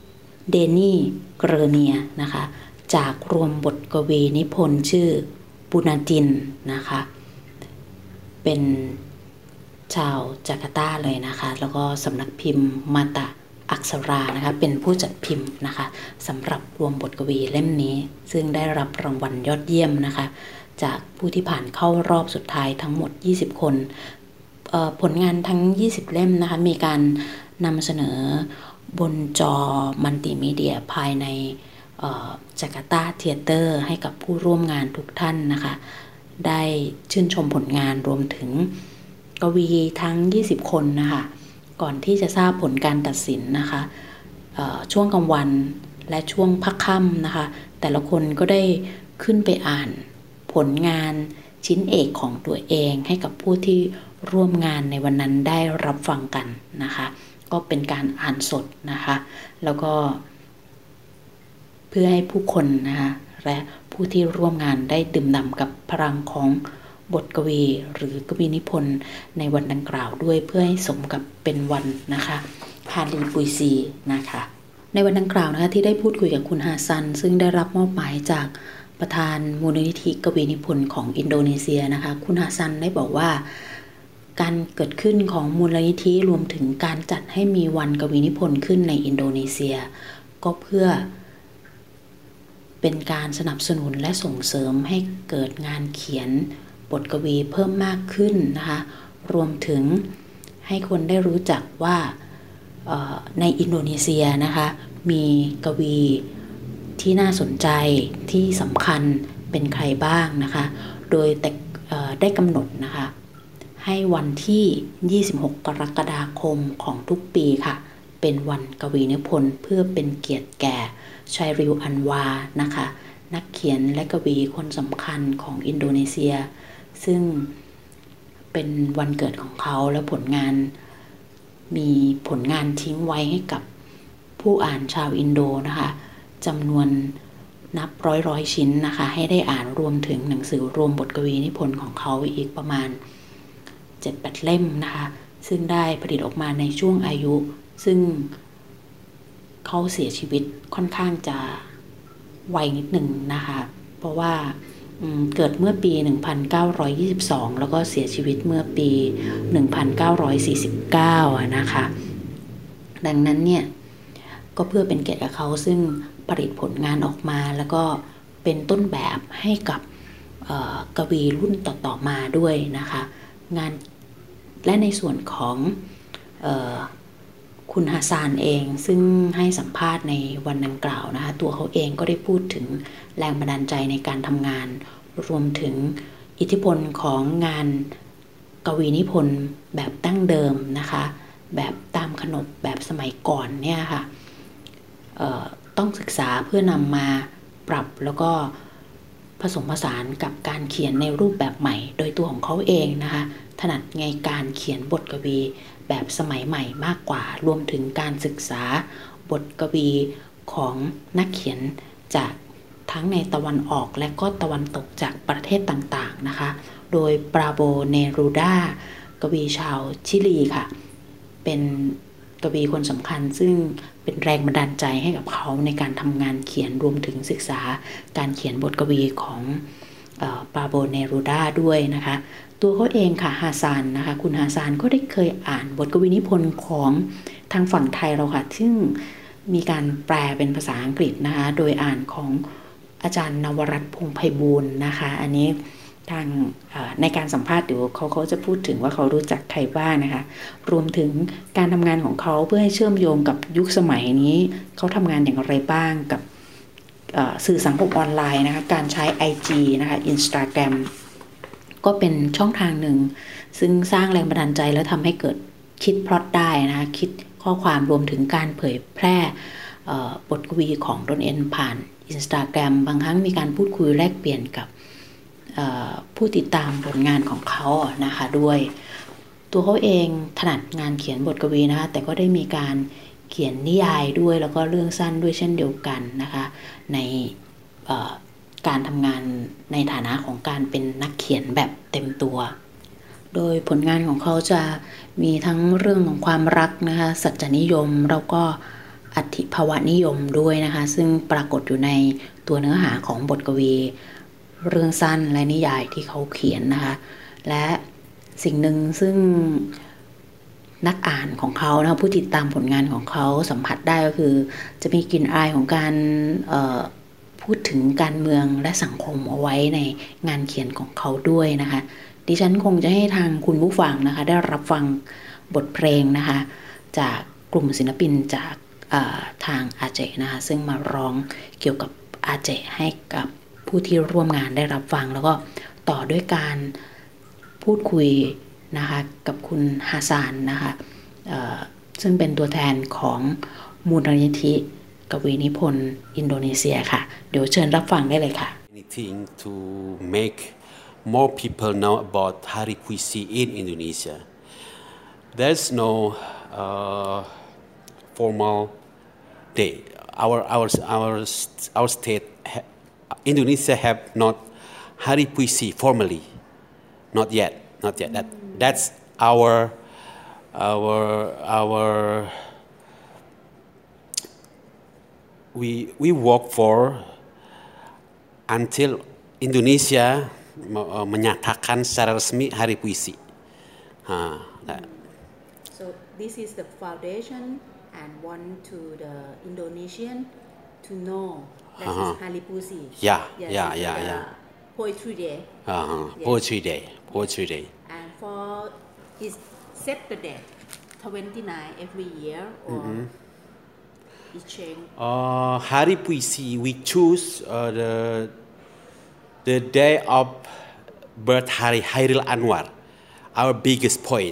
เดนี่เกรเนียนะคะจากรวมบทกวีนิพนธ์ชื่อปูนาจินนะคะเป็นชาวจาการ์ตาเลยนะคะแล้วก็สำนักพิมพ์มาตะอักษรานะคะเป็นผู้จัดพิมพ์นะคะสำหรับรวมบทกวีเล่มนี้ซึ่งได้รับรางวัลยอดเยี่ยมนะคะจากผู้ที่ผ่านเข้ารอบสุดท้ายทั้งหมด20คนผลงานทั้ง20เล่มนะคะมีการนำเสนอบนจอมัลติมีเดียภายในจาการ์ตาเธียเตอร์ให้กับผู้ร่วมงานทุกท่านนะคะได้ชื่นชมผลงานรวมถึงกวีทั้ง20คนนะคะก่อนที่จะทราบผลการตัดสินนะคะช่วงกลางวันและช่วงพักค่ำนะคะแต่ละคนก็ได้ขึ้นไปอ่านผลงานชิ้นเอกของตัวเองให้กับผู้ที่ร่วมงานในวันนั้นได้รับฟังกันนะคะก็เป็นการอ่านสดนะคะแล้วก็เพื่อให้ผู้คนนะคะและผู้ที่ร่วมงานได้ดื่มด่ำกับพลังของบทกวีหรือกวีนิพนธ์ในวันดังกล่าวด้วยเพื่อให้สมกับเป็นวันนะคะฮาลีปุยซีนะคะในวันดังกล่าวนะคะที่ได้พูดคุยกับคุณฮาซันซึ่งได้รับมอบหมายจากประธานมูลนิธิกวีนิพนธ์ของอินโดนีเซียนะคะคุณฮาซันได้บอกว่าการเกิดขึ้นของมูลนิธิรวมถึงการจัดให้มีวันกวีนิพนธ์ขึ้นในอินโดนีเซียก็เพื่อเป็นการสนับสนุนและส่งเสริมให้เกิดงานเขียนบทกวีเพิ่มมากขึ้นนะคะรวมถึงให้คนได้รู้จักว่าในอินโดนีเซียนะคะมีกวีที่น่าสนใจที่สำคัญเป็นใครบ้างนะคะโดยได้กำหนดนะคะให้วันที่26กรกฎาคมของทุกปีค่ะเป็นวันกวีนิพนธ์เพื่อเป็นเกียรติแก่ชัยริวอันวานะคะนักเขียนและกวีคนสำคัญของอินโดนีเซียซึ่งเป็นวันเกิดของเขาและผลงานมีผลงานทิ้งไว้ให้กับผู้อ่านชาวอินโดนะคะจำนวนนับร้อยชิ้นนะคะให้ได้อ่านรวมถึงหนังสือรวมบทกวีนิพนธ์ของเขาอีกประมาณ 7-8 เล่มนะคะซึ่งได้ผลิตออกมาในช่วงอายุซึ่งเขาเสียชีวิตค่อนข้างจะไวนิดหนึ่งนะคะเพราะว่าเกิดเมื่อปี 1922 แล้วก็เสียชีวิตเมื่อปี 1949 นะคะดังนั้นเนี่ยก็เพื่อเป็นเกียรติกับเขาซึ่งผลิตผลงานออกมาแล้วก็เป็นต้นแบบให้กับกวีรุ่นต่อๆมาด้วยนะคะงานและในส่วนของคุณฮาซานเองซึ่งให้สัมภาษณ์ในวันดังกล่าวนะคะตัวเขาเองก็ได้พูดถึงแรงบันดาลใจในการทำงานรวมถึงอิทธิพลของงานกวีนิพนธ์แบบดั้งเดิมนะคะแบบตามขนบแบบสมัยก่อนเนี่ยค่ะต้องศึกษาเพื่อนำมาปรับแล้วก็ผสมผสานกับการเขียนในรูปแบบใหม่โดยตัวของเขาเองนะคะถนัดในการเขียนบทกวีแบบสมัยใหม่มากกว่ารวมถึงการศึกษาบทกวีของนักเขียนจากทั้งในตะวันออกและก็ตะวันตกจากประเทศต่างๆนะคะโดยปราโบเนรูดากวีชาวชิลีค่ะเป็นกวีคนสำคัญซึ่งเป็นแรงบันดาลใจให้กับเขาในการทำงานเขียนรวมถึงศึกษาการเขียนบทกวีของปราโบเนรูดาด้วยนะคะตัวเขาเองค่ะฮาซานนะคะคุณฮาซานก็ได้เคยอ่านบทกวีนิพนธ์ของทางฝั่งไทยเราค่ะซึ่งมีการแปลเป็นภาษาอังกฤษนะคะโดยอ่านของอาจารย์นวรัตน์พงษ์ไพบูลย์นะคะอันนี้ทางในการสัมภาษณ์เดี๋ยวเขาจะพูดถึงว่าเขารู้จักใครบ้างนะคะรวมถึงการทำงานของเขาเพื่อให้เชื่อมโยงกับยุคสมัยนี้เขาทำงานอย่างไรบ้างกับสื่อสังคมออนไลน์นะคะการใช้ IG นะคะ Instagram ก็เป็นช่องทางหนึ่งซึ่งสร้างแรงบันดาลใจแล้วทำให้เกิดคิดพล็อตได้นะคะคิดข้อความรวมถึงการเผยแพร่บทกวีของตนเองผ่าน Instagram บางครั้งมีการพูดคุยแลกเปลี่ยนกับผู้ติดตามผลงานของเขานะคะด้วยตัวเขาเองถนัดงานเขียนบทกวีนะคะแต่ก็ได้มีการเขียนนิยายด้วยแล้วก็เรื่องสั้นด้วยเช่นเดียวกันนะคะในการทำงานในฐานะของการเป็นนักเขียนแบบเต็มตัวโดยผลงานของเขาจะมีทั้งเรื่องของความรักนะคะสัจจนิยมแล้วก็อธิภาวะนิยมด้วยนะคะซึ่งปรากฏอยู่ในตัวเนื้อหาของบทกวีเรื่องสั้นและนิยายที่เขาเขียนนะคะและสิ่งหนึ่งซึ่งนักอ่านของเขานะผู้ติดตามผลงานของเขาสัมผัสได้ก็คือจะมีกลิ่นอายของการพูดถึงการเมืองและสังคมเอาไว้ในงานเขียนของเขาด้วยนะคะดิฉันคงจะให้ทางคุณผู้ฟังนะคะได้รับฟังบทเพลงนะคะจากกลุ่มศิลปินจากทางอาเจนะคะซึ่งมาร้องเกี่ยวกับอาเจให้กับผู้ที่ร่วมงานได้รับฟังแล้วก็ต่อด้วยการพูดคุยนะคะกับคุณฮาซานนะคะซึ่งเป็นตัวแทนของมูลนิธิกวีนิพนธ์อินโดนีเซียค่ะเดี๋ยวเชิญรับฟังได้เลยค่ะ Anything to make more people know about Hari Puisi in Indonesia. There's no formal day. Our state, Indonesia have not Hari Puisi formally. Not yet. That's our we work for until Indonesia menyatakan secara resmi Hari Puisi. So this is the foundation and want to the Indonesian to know that is Hari Puisi. Yeah. Poetry Day. Poetry Day. And for is set the date 29 every year or it change? Hari Puisi we choose the day of birth Hairil Anwar, our biggest poet.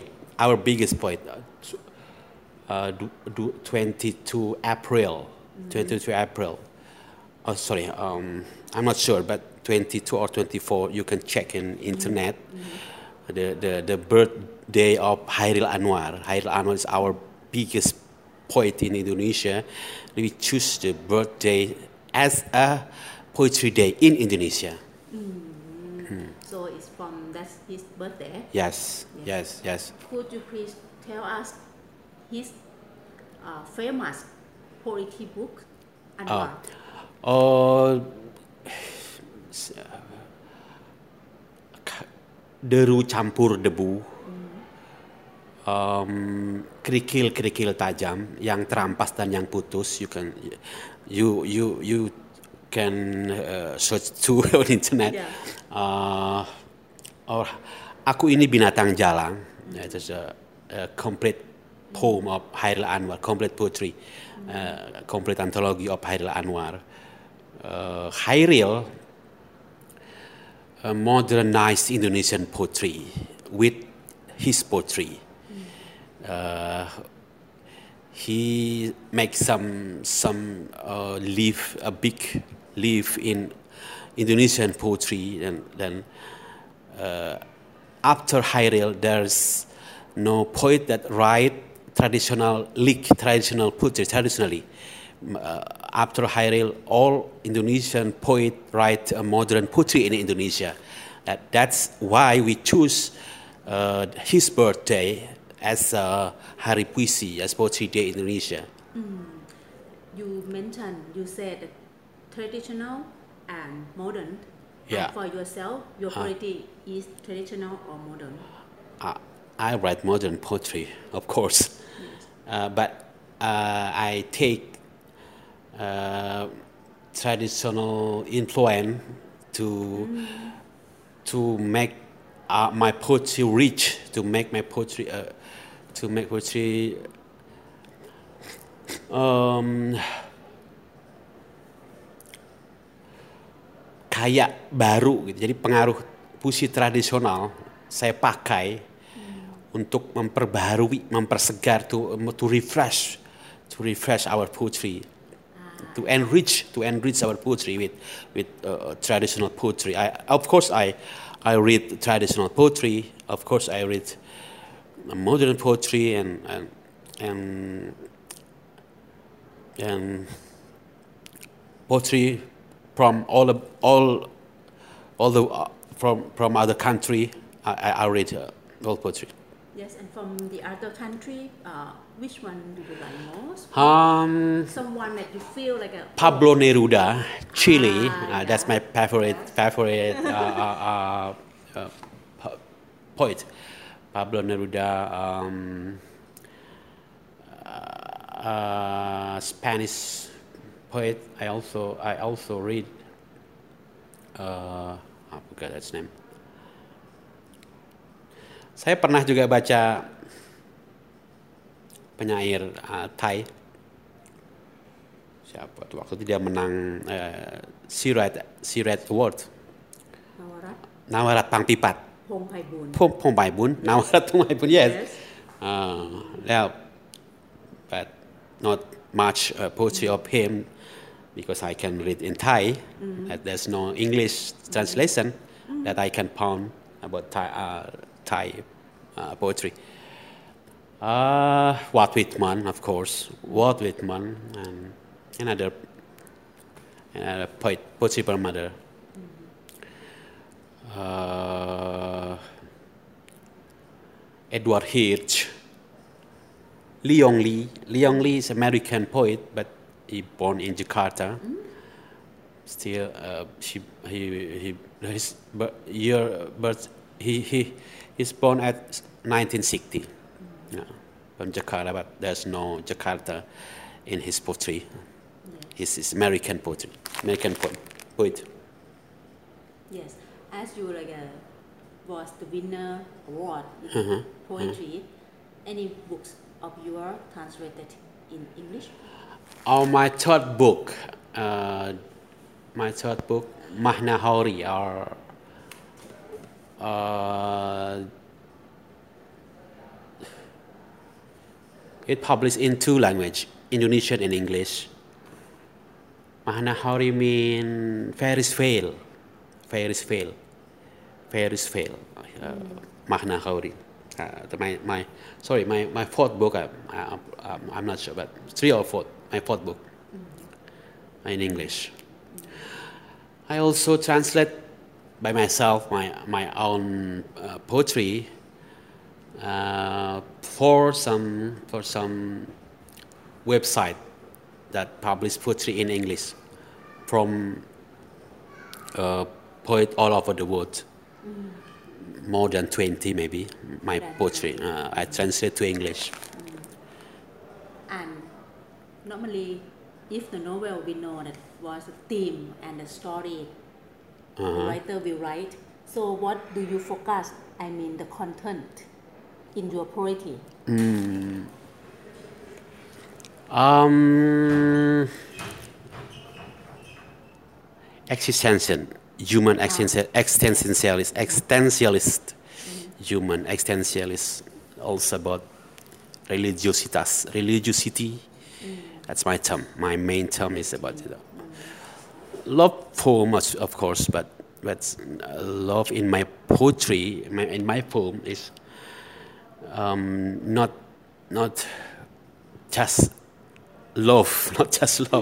22 April. Oh, sorry, I'm not sure, but 22 or 24. You can check in internet. The birthday of Hairil Anwar. Hairil Anwar is our biggest poet in Indonesia. We choose the birthday as a poetry day in Indonesia. So it's from that's his birthday? Yes. Could you please tell us his famous poetry book? Anwar? Deru campur debu, kerikil tajam, yang terampas dan yang putus. You can search to on internet. Aku ini binatang jalang. It's a complete poem of Hairil Anwar, complete poetry, complete anthology of Hairil Anwar. Hairil modernized Indonesian poetry with his poetry. He makes some a big leaf in Indonesian poetry, and then after Hairil, there's no poet that write traditional poetry traditionally. After Hairil, all Indonesian poets write modern poetry in Indonesia. That's why we choose his birthday as Hari Puisi, as Poetry Day in Indonesia. You said traditional and modern. Yeah. And for yourself, your poetry is traditional or modern? I write modern poetry, of course. Yes. But I take traditional influence to make my poetry rich, to make poetry kayak baru gitu. Jadi pengaruh puisi tradisional saya pakai untuk memperbarui, mempersegar, to refresh our poetry, to enrich our poetry with traditional poetry. Of course I read traditional poetry. Of course I read modern poetry and poetry from from other country. I read all poetry. Yes, and from the other country, which one do you like most? Someone that you feel like a Pablo Neruda, Chile. That's my favorite poet. Pablo Neruda, Spanish poet. I also read. I forgot his name. Saya pernah juga baca penyair Thai. Siapa tuh waktu itu dia menang Sirat Award. Nawarat Pangpipat. Phong Pai Bun. Nawarat Phong Pai Bun. Yes. But not much poetry of him because I can read in Thai. There's no English translation that I can found about Thai poetry. Walt Whitman, of course. Walt Whitman and another poetry by mother. Edward Hirsch. Leong Lee. Leong Lee is an American poet, but he born in Jakarta. Still, he's born at 1960 from Jakarta, but there's no Jakarta in his poetry. It's American poetry, American poet. Yes, as you was the winner award in poetry. Any books of yours translated in English? My third book, Mahna Hauri, it published in two languages, Indonesian and English. Mahna Hauri mean Ferris Fail. Mahna Hauri. My fourth book, I'm not sure, but three or four, my fourth book in English. I also translate by myself my own poetry for some website that publish poetry in English from poets all over the world. More than 20 maybe, my poetry. I translate to English. And normally, if the novel we know that was a theme and a story, the writer will write. So what do you focus, the content in your poetry? Human existentialist, human existentialist, also about religiosity. That's my term. My main term is about love poem, of course, but love in my poetry, in my poem is not just love, not just love.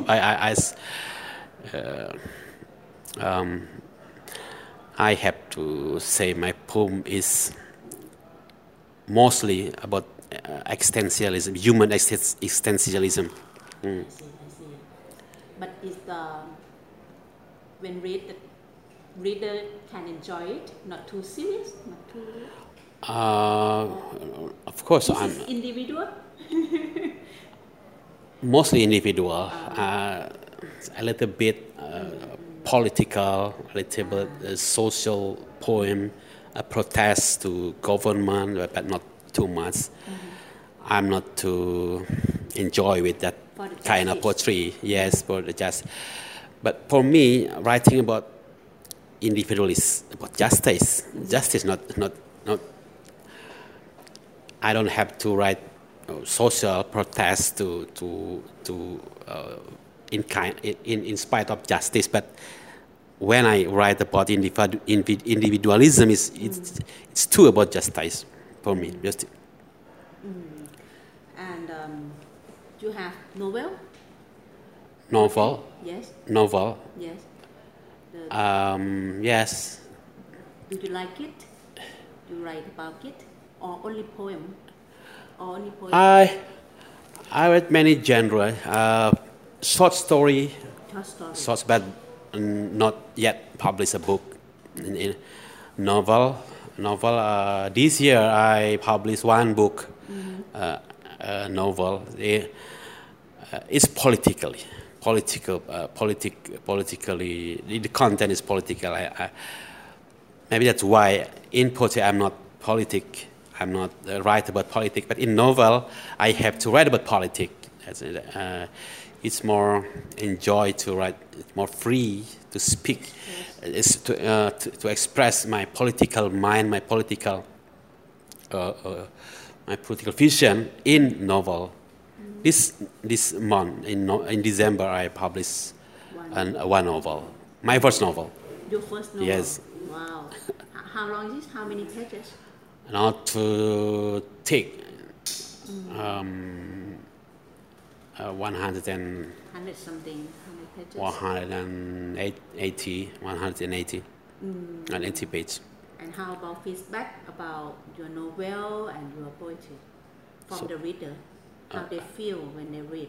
I have to say my poem is mostly about existentialism, human existentialism. I see. But is when reader can enjoy it, not too serious, not too. Of course, I'm individual. Mostly individual, a little bit political, a little bit social poem, a protest to government, but not too much. I'm not too enjoy with that kind of poetry. Yes, for the justice. But for me, writing about individual is about justice. Justice, not. I don't have to write social protest in spite of justice, but when I write about individualism, it's too about justice for me. And you have novel? Yes. Novel. Yes. Yes. Do you like it? Do you write about it? or only poem or only poetry? I read many genres. Short story, but not yet published a book. In novel. This year I published one book, novel. It's politically. The content is political. Maybe that's why in poetry I'm not write about politics. But in novel I have to write about politics. It's more enjoy to write. It's more free to speak. Yes. To express my political mind, my political vision in novel. This month in December I published one novel. My first novel. Your first novel? Yes. Wow. How long is it? How many pages? Not to take 100 something. How many pages? 180 pages. And how about feedback about your novel and your poetry from the reader? How they feel when they read?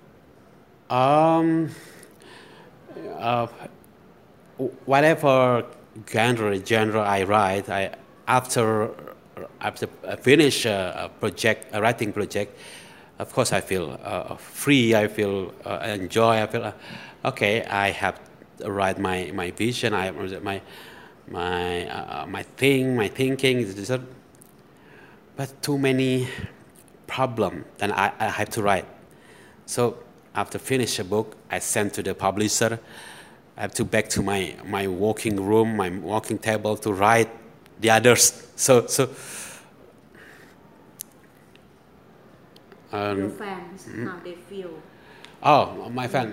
Whatever genre I write, after I finish a writing project, of course I feel free. I feel enjoy. I feel okay. I have to write my vision. I my thinking. But too many problem, then I have to write. So after finish a book, I send to the publisher. I have to back to my working room, my working table to write the others. So your fans, how they feel? Oh, my fan.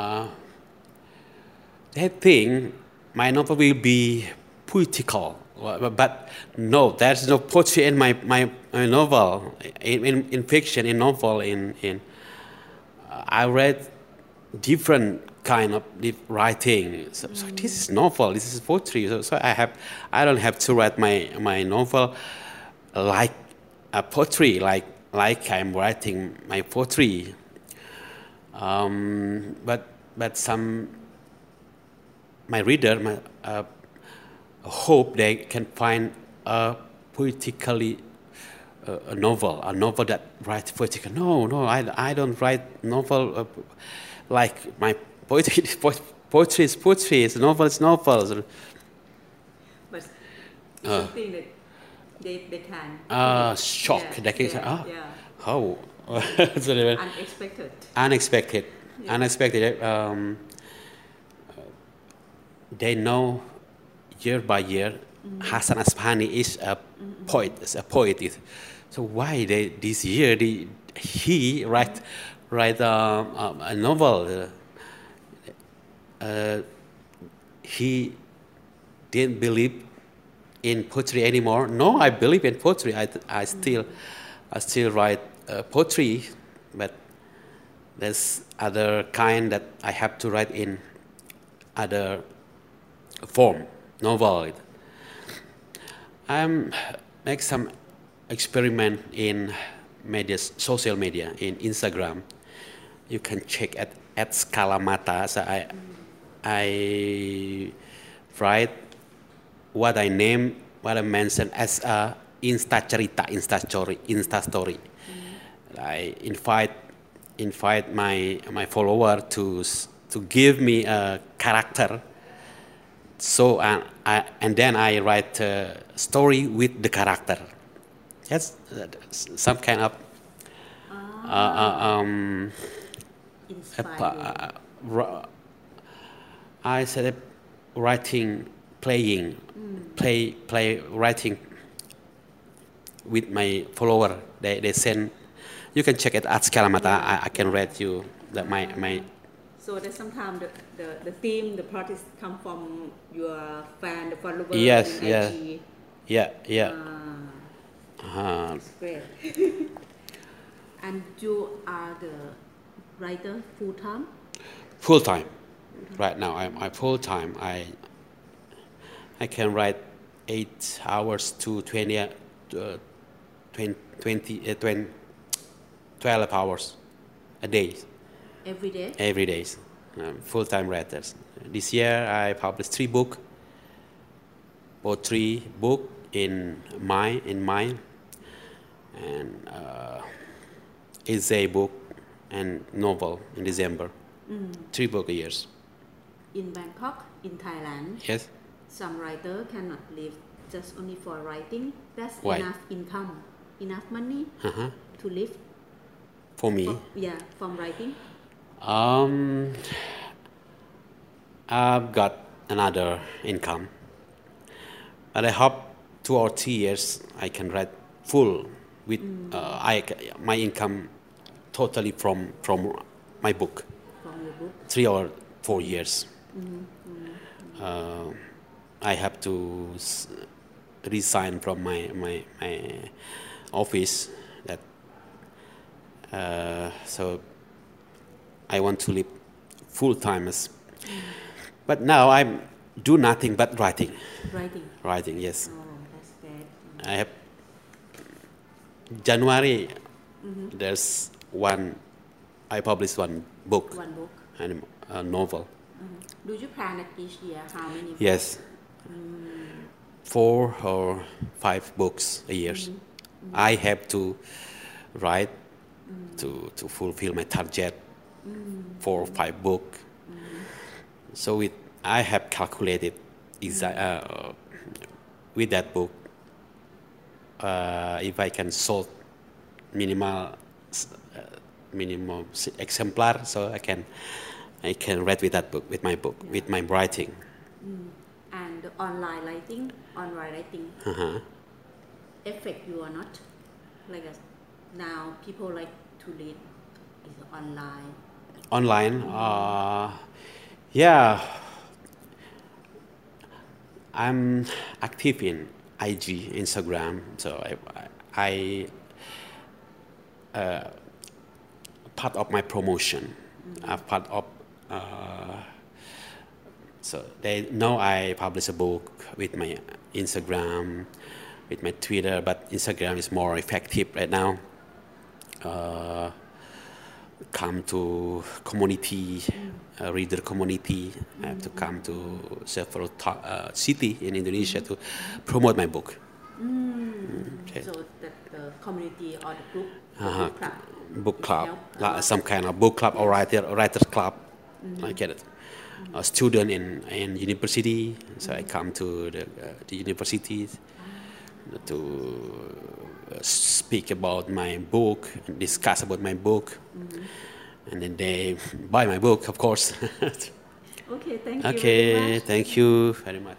They think my novel will be poetical. But no, there's no poetry in my novel. In fiction, in novel, I read different kind of writing. So this is novel. This is poetry. So I don't have to write my novel like a poetry, like I'm writing my poetry. But some my reader hope they can find a poetically a novel that writes poetically. No, I don't write novel like my poetry. Poetry is poetry. It's novel. It's novel. But something that they can shock. Yeah, they can say, how unexpected. They know. Year by year, Hasan Ashbani is a poet. Is a poet. So why this year he write a novel? He didn't believe in poetry anymore. No, I believe in poetry. I still write poetry, but there's other kind that I have to write in other form. Novel. I make some experiment in social media, in Instagram. You can check at Skalamata. So I write what I mention as a Insta story. I invite my follower to give me a character. So and then I write a story with the character. That's some kind of I said writing, writing with my follower. They send. You can check it at Skalamata. I can read you that my. So that sometimes the theme, the plot is come from your fan, the follower. Yes, in IG. Yeah. That's great. And you are the writer full time? Full time. Right now, I'm full time. I can write 8 hours to 20 12 hours a day. Every day? Every day. Full-time writers. This year I published 3 books. Poetry book in mind, and essay book and novel in December. 3 books a year. In Bangkok, in Thailand, yes, some writer cannot live just only for writing. That's Why? enough income, enough money to live. For me, from writing. I've got another income, but I hope 2 or 3 years I can write full with my income totally from my book. From your book. 3 or 4 years. I have to resign from my office. That so I want to live full time. But now I do nothing but writing. Writing, yes. Oh, that's good. I have January. There's I published one book. One book. And a novel. Do you plan at each year how many? Yes. 4 or 5 books a year. I have to write to fulfill my target. 4 or 5 books. So I have calculated with that book if I can sold minimum exemplar, so I can write with that book, with my book, with my writing. And online writing affect you or not? Like now people like to read is online. Online, yeah. I'm active in IG, Instagram, so I part of my promotion. Part of so they know I publish a book with my Instagram, with my Twitter, but Instagram is more effective right now. Come to community, reader community. I have to come to several city in Indonesia to promote my book. Okay. So the community or the group, book club, some kind of book club or writers club. I get it. A student in university, so I come to the universities to speak about my book, discuss about my book, and then they buy my book, of course. Okay, thank you. Okay, very much. Thank you very much.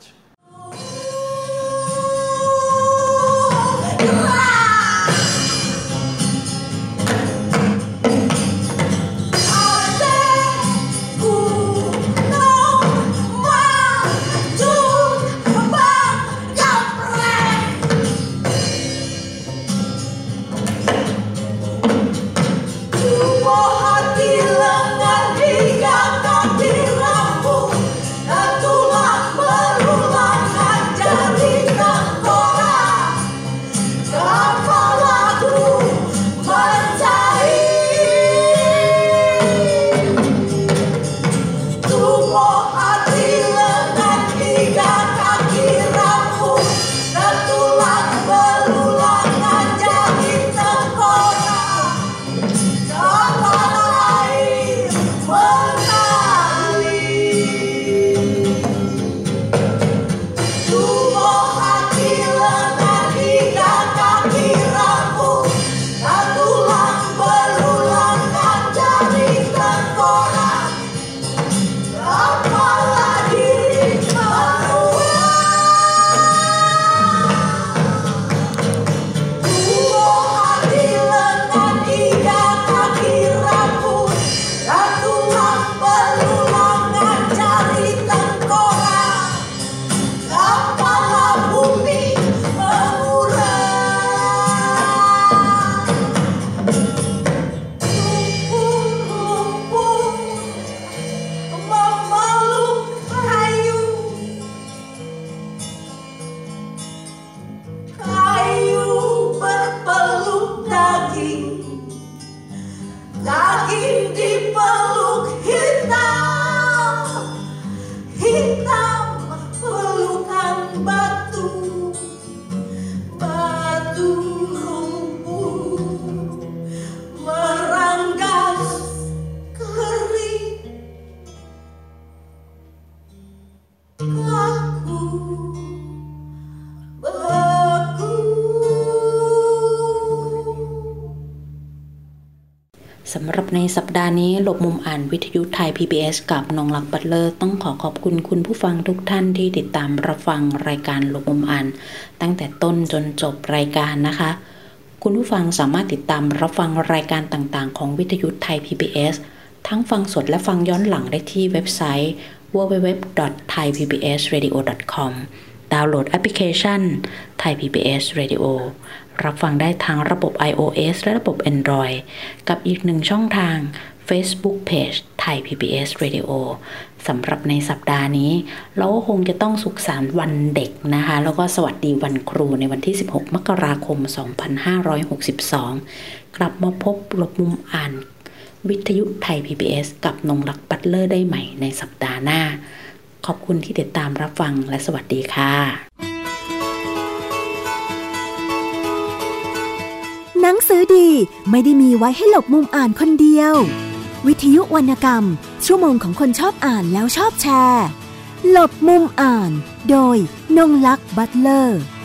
Berulang สำหรับในสัปดาห์นี้หลบมุมอ่านวิทยุไทย PBS กับนงลักษณ์บัตเลอร์ต้องขอบคุณคุณผู้ฟังทุกท่านที่ติดตามรับฟังรายการหลบมุมอ่านตั้งแต่ต้นจนจบรายการนะคะคุณผู้ฟังสามารถติดตามรับฟังรายการต่างๆของวิทยุไทย PBS ทั้งฟังสดและฟังย้อนหลังได้ที่เว็บไซต์ www.thaipbsradio.com ดาวน์โหลดแอปพลิเคชัน Thai PBS Radio รับฟังได้ทางระบบ iOS และระบบ Android กับอีกหนึ่งช่องทาง Facebook Page Thai PBS Radio สำหรับในสัปดาห์นี้เราก็คงจะต้องสุขสันต์วันเด็กนะคะแล้วก็สวัสดีวันครูในวันที่16มกราคม2562กลับมาพบหลบมุมอ่านวิทยุไทย PBS กับนงลักษณ์บัตเลอร์ได้ใหม่ในสัปดาห์หน้าขอบคุณที่ติดตามรับฟังและสวัสดีค่ะหนังสือดีไม่ได้มีไว้ให้หลบมุมอ่านคนเดียววิทยุวรรณกรรมชั่วโมงของคนชอบอ่านแล้วชอบแชร์หลบมุมอ่านโดยนงลักษณ์บัตเลอร์